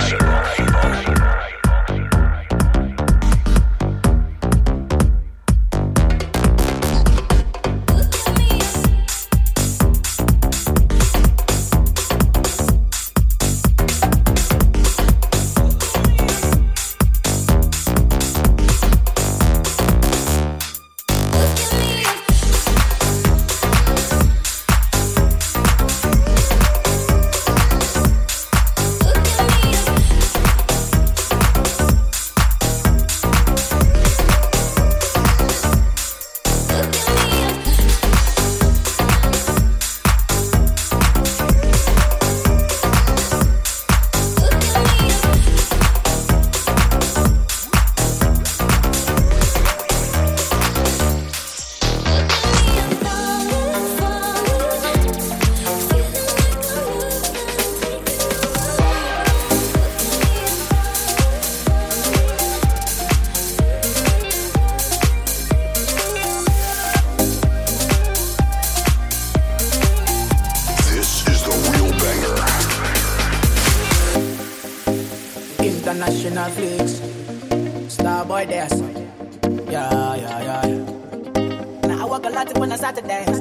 International flicks, Starboy dance. Yeah. Now I walk a lot when I start to dance.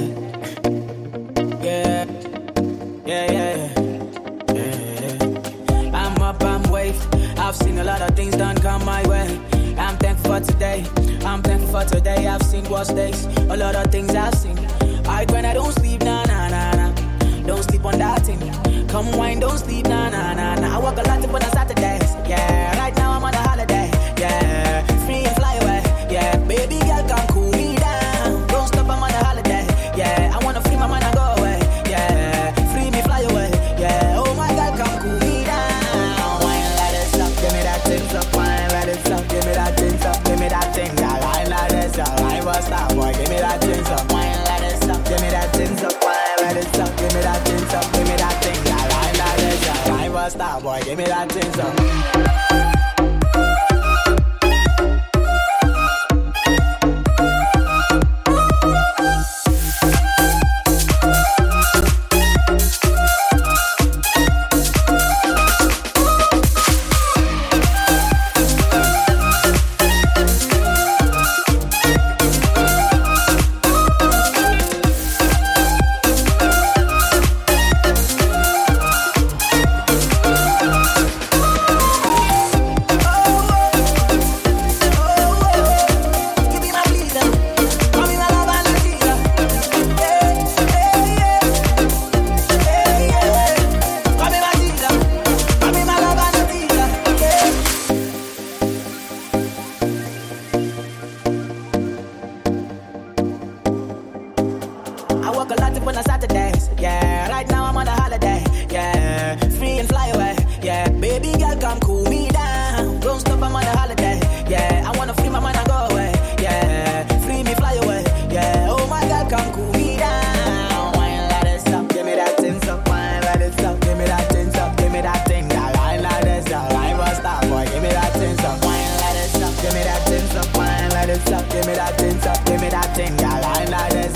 Yeah. I'm up, I'm wave. I've seen a lot of things done come my way. I'm thankful for today. I've seen worse days. A lot of things I've seen. I grind, I don't sleep, nah. Don't sleep on that thing. Come wine, don't sleep, nah. I walk a lot when I start to dance. Yeah, right now I'm on a holiday. Yeah, free and fly away. Yeah, baby girl, come cool me down. Don't stop, I'm on a holiday. Yeah, I wanna free my mind and go away. Yeah, free me, fly away. Yeah, oh my God, come cool me down. Wine like this up, give me that thing up. Wine like this up, give me that thing up. Give me that thing, that wine like this up. I was that boy, give me that thing up. Wine like this up, give me that thing up. Wine like this up, give me that thing up. Give me that thing, that wine like this up. I was that boy, give me that thing up.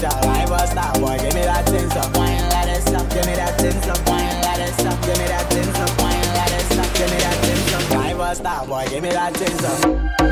essential. I was that boy, give me that thing up, wine like this up, give me that thing up, wine like this up, give me that thing up, wine like this up, give me that thing up. I was that boy, give me that thing up.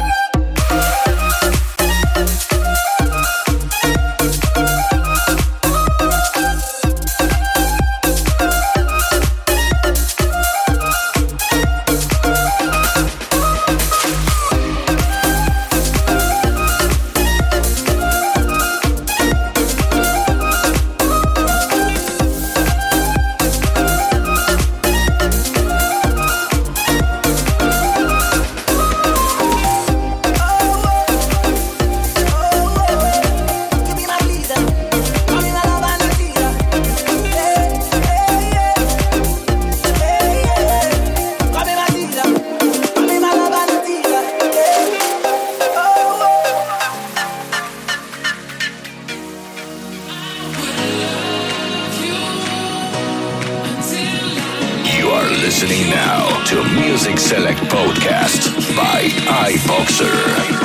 Listening now to Music Select Podcast by iBoxer.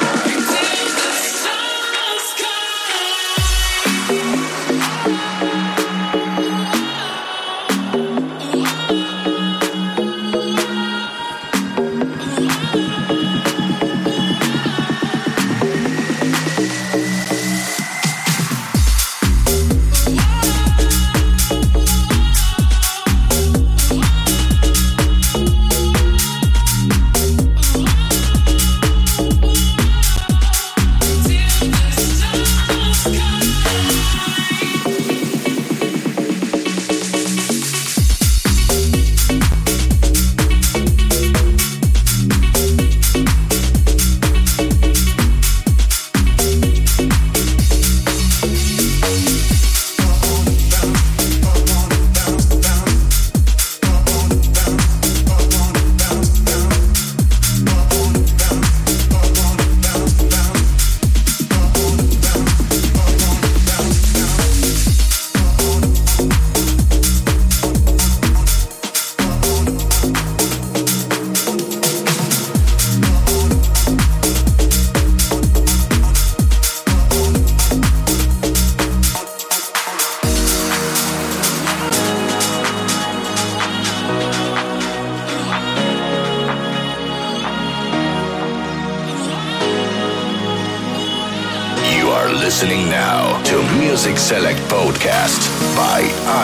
Listening now to Music Select Podcast by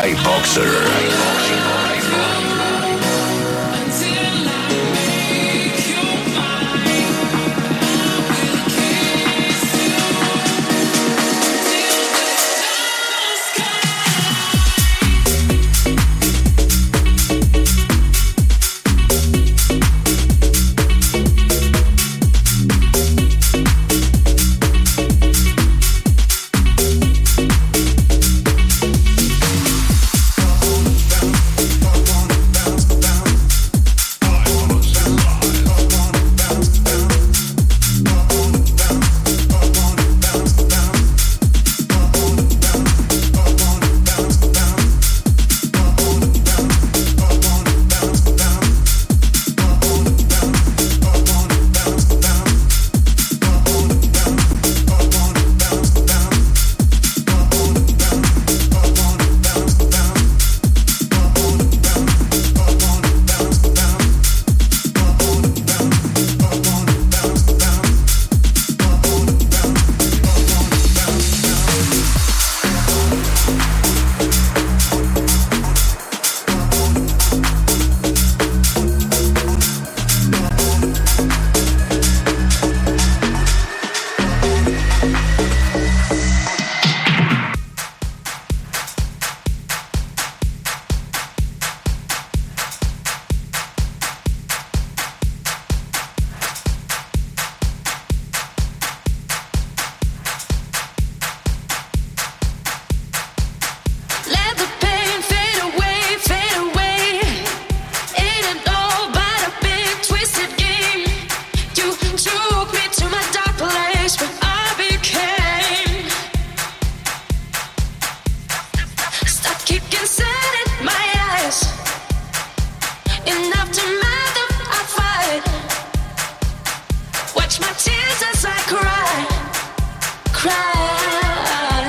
iBoxer. Watch my tears as I cry, cry.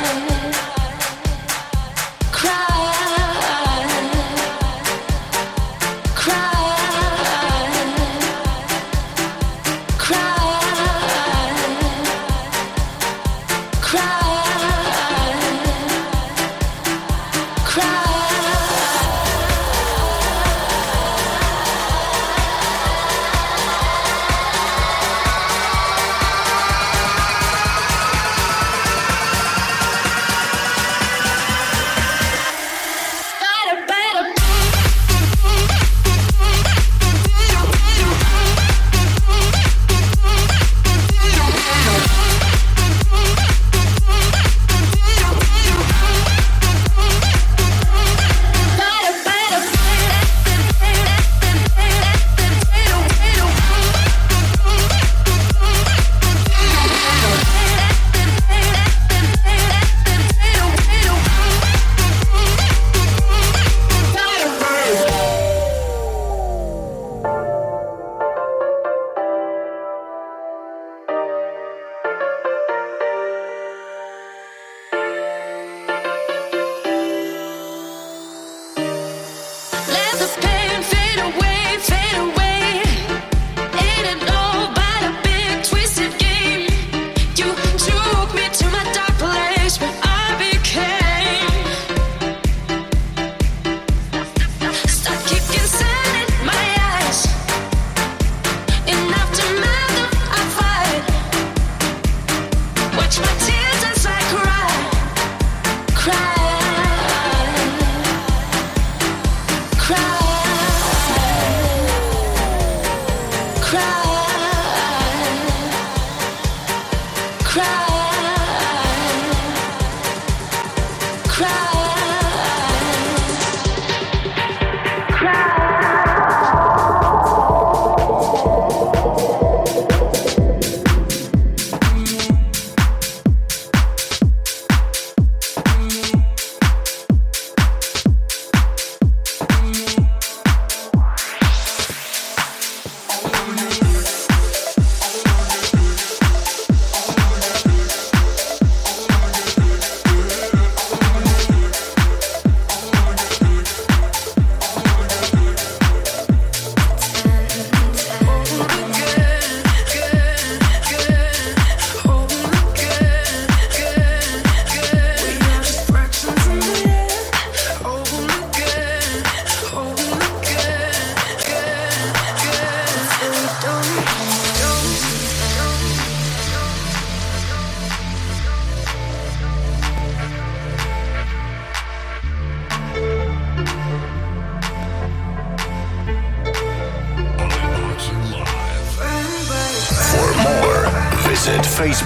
visit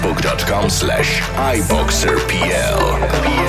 facebook.com/iboxerpl.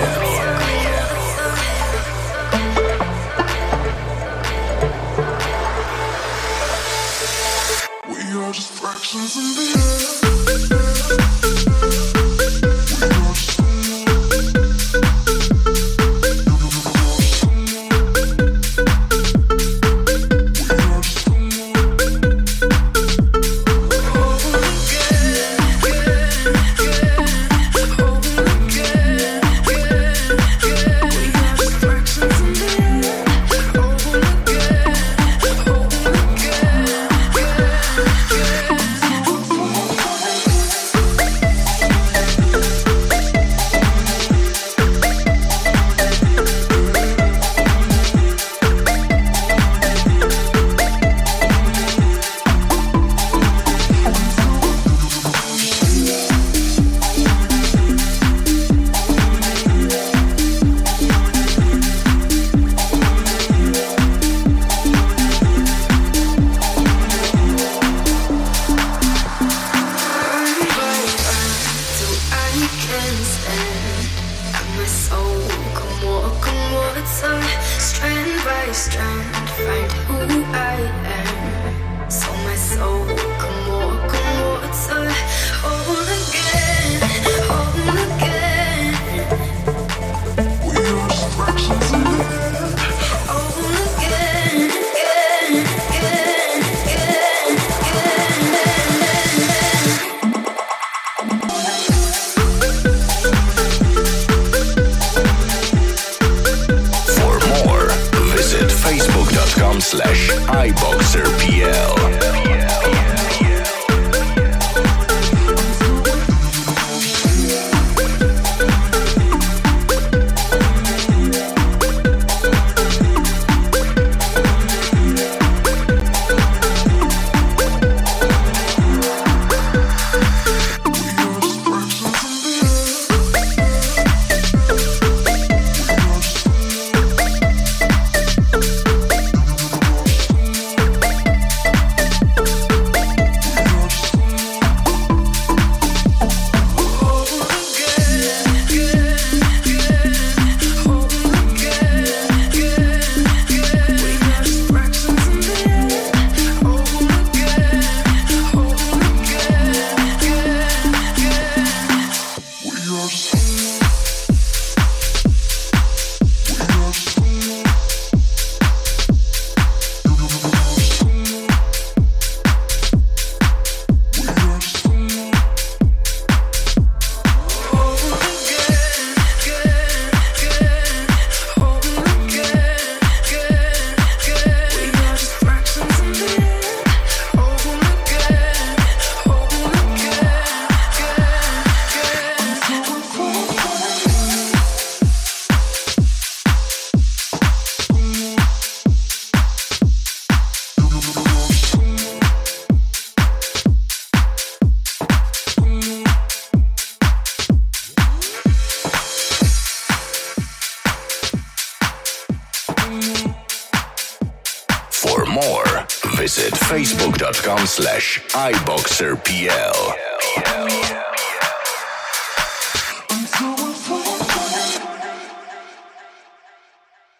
For more, visit facebook.com/iboxerpl.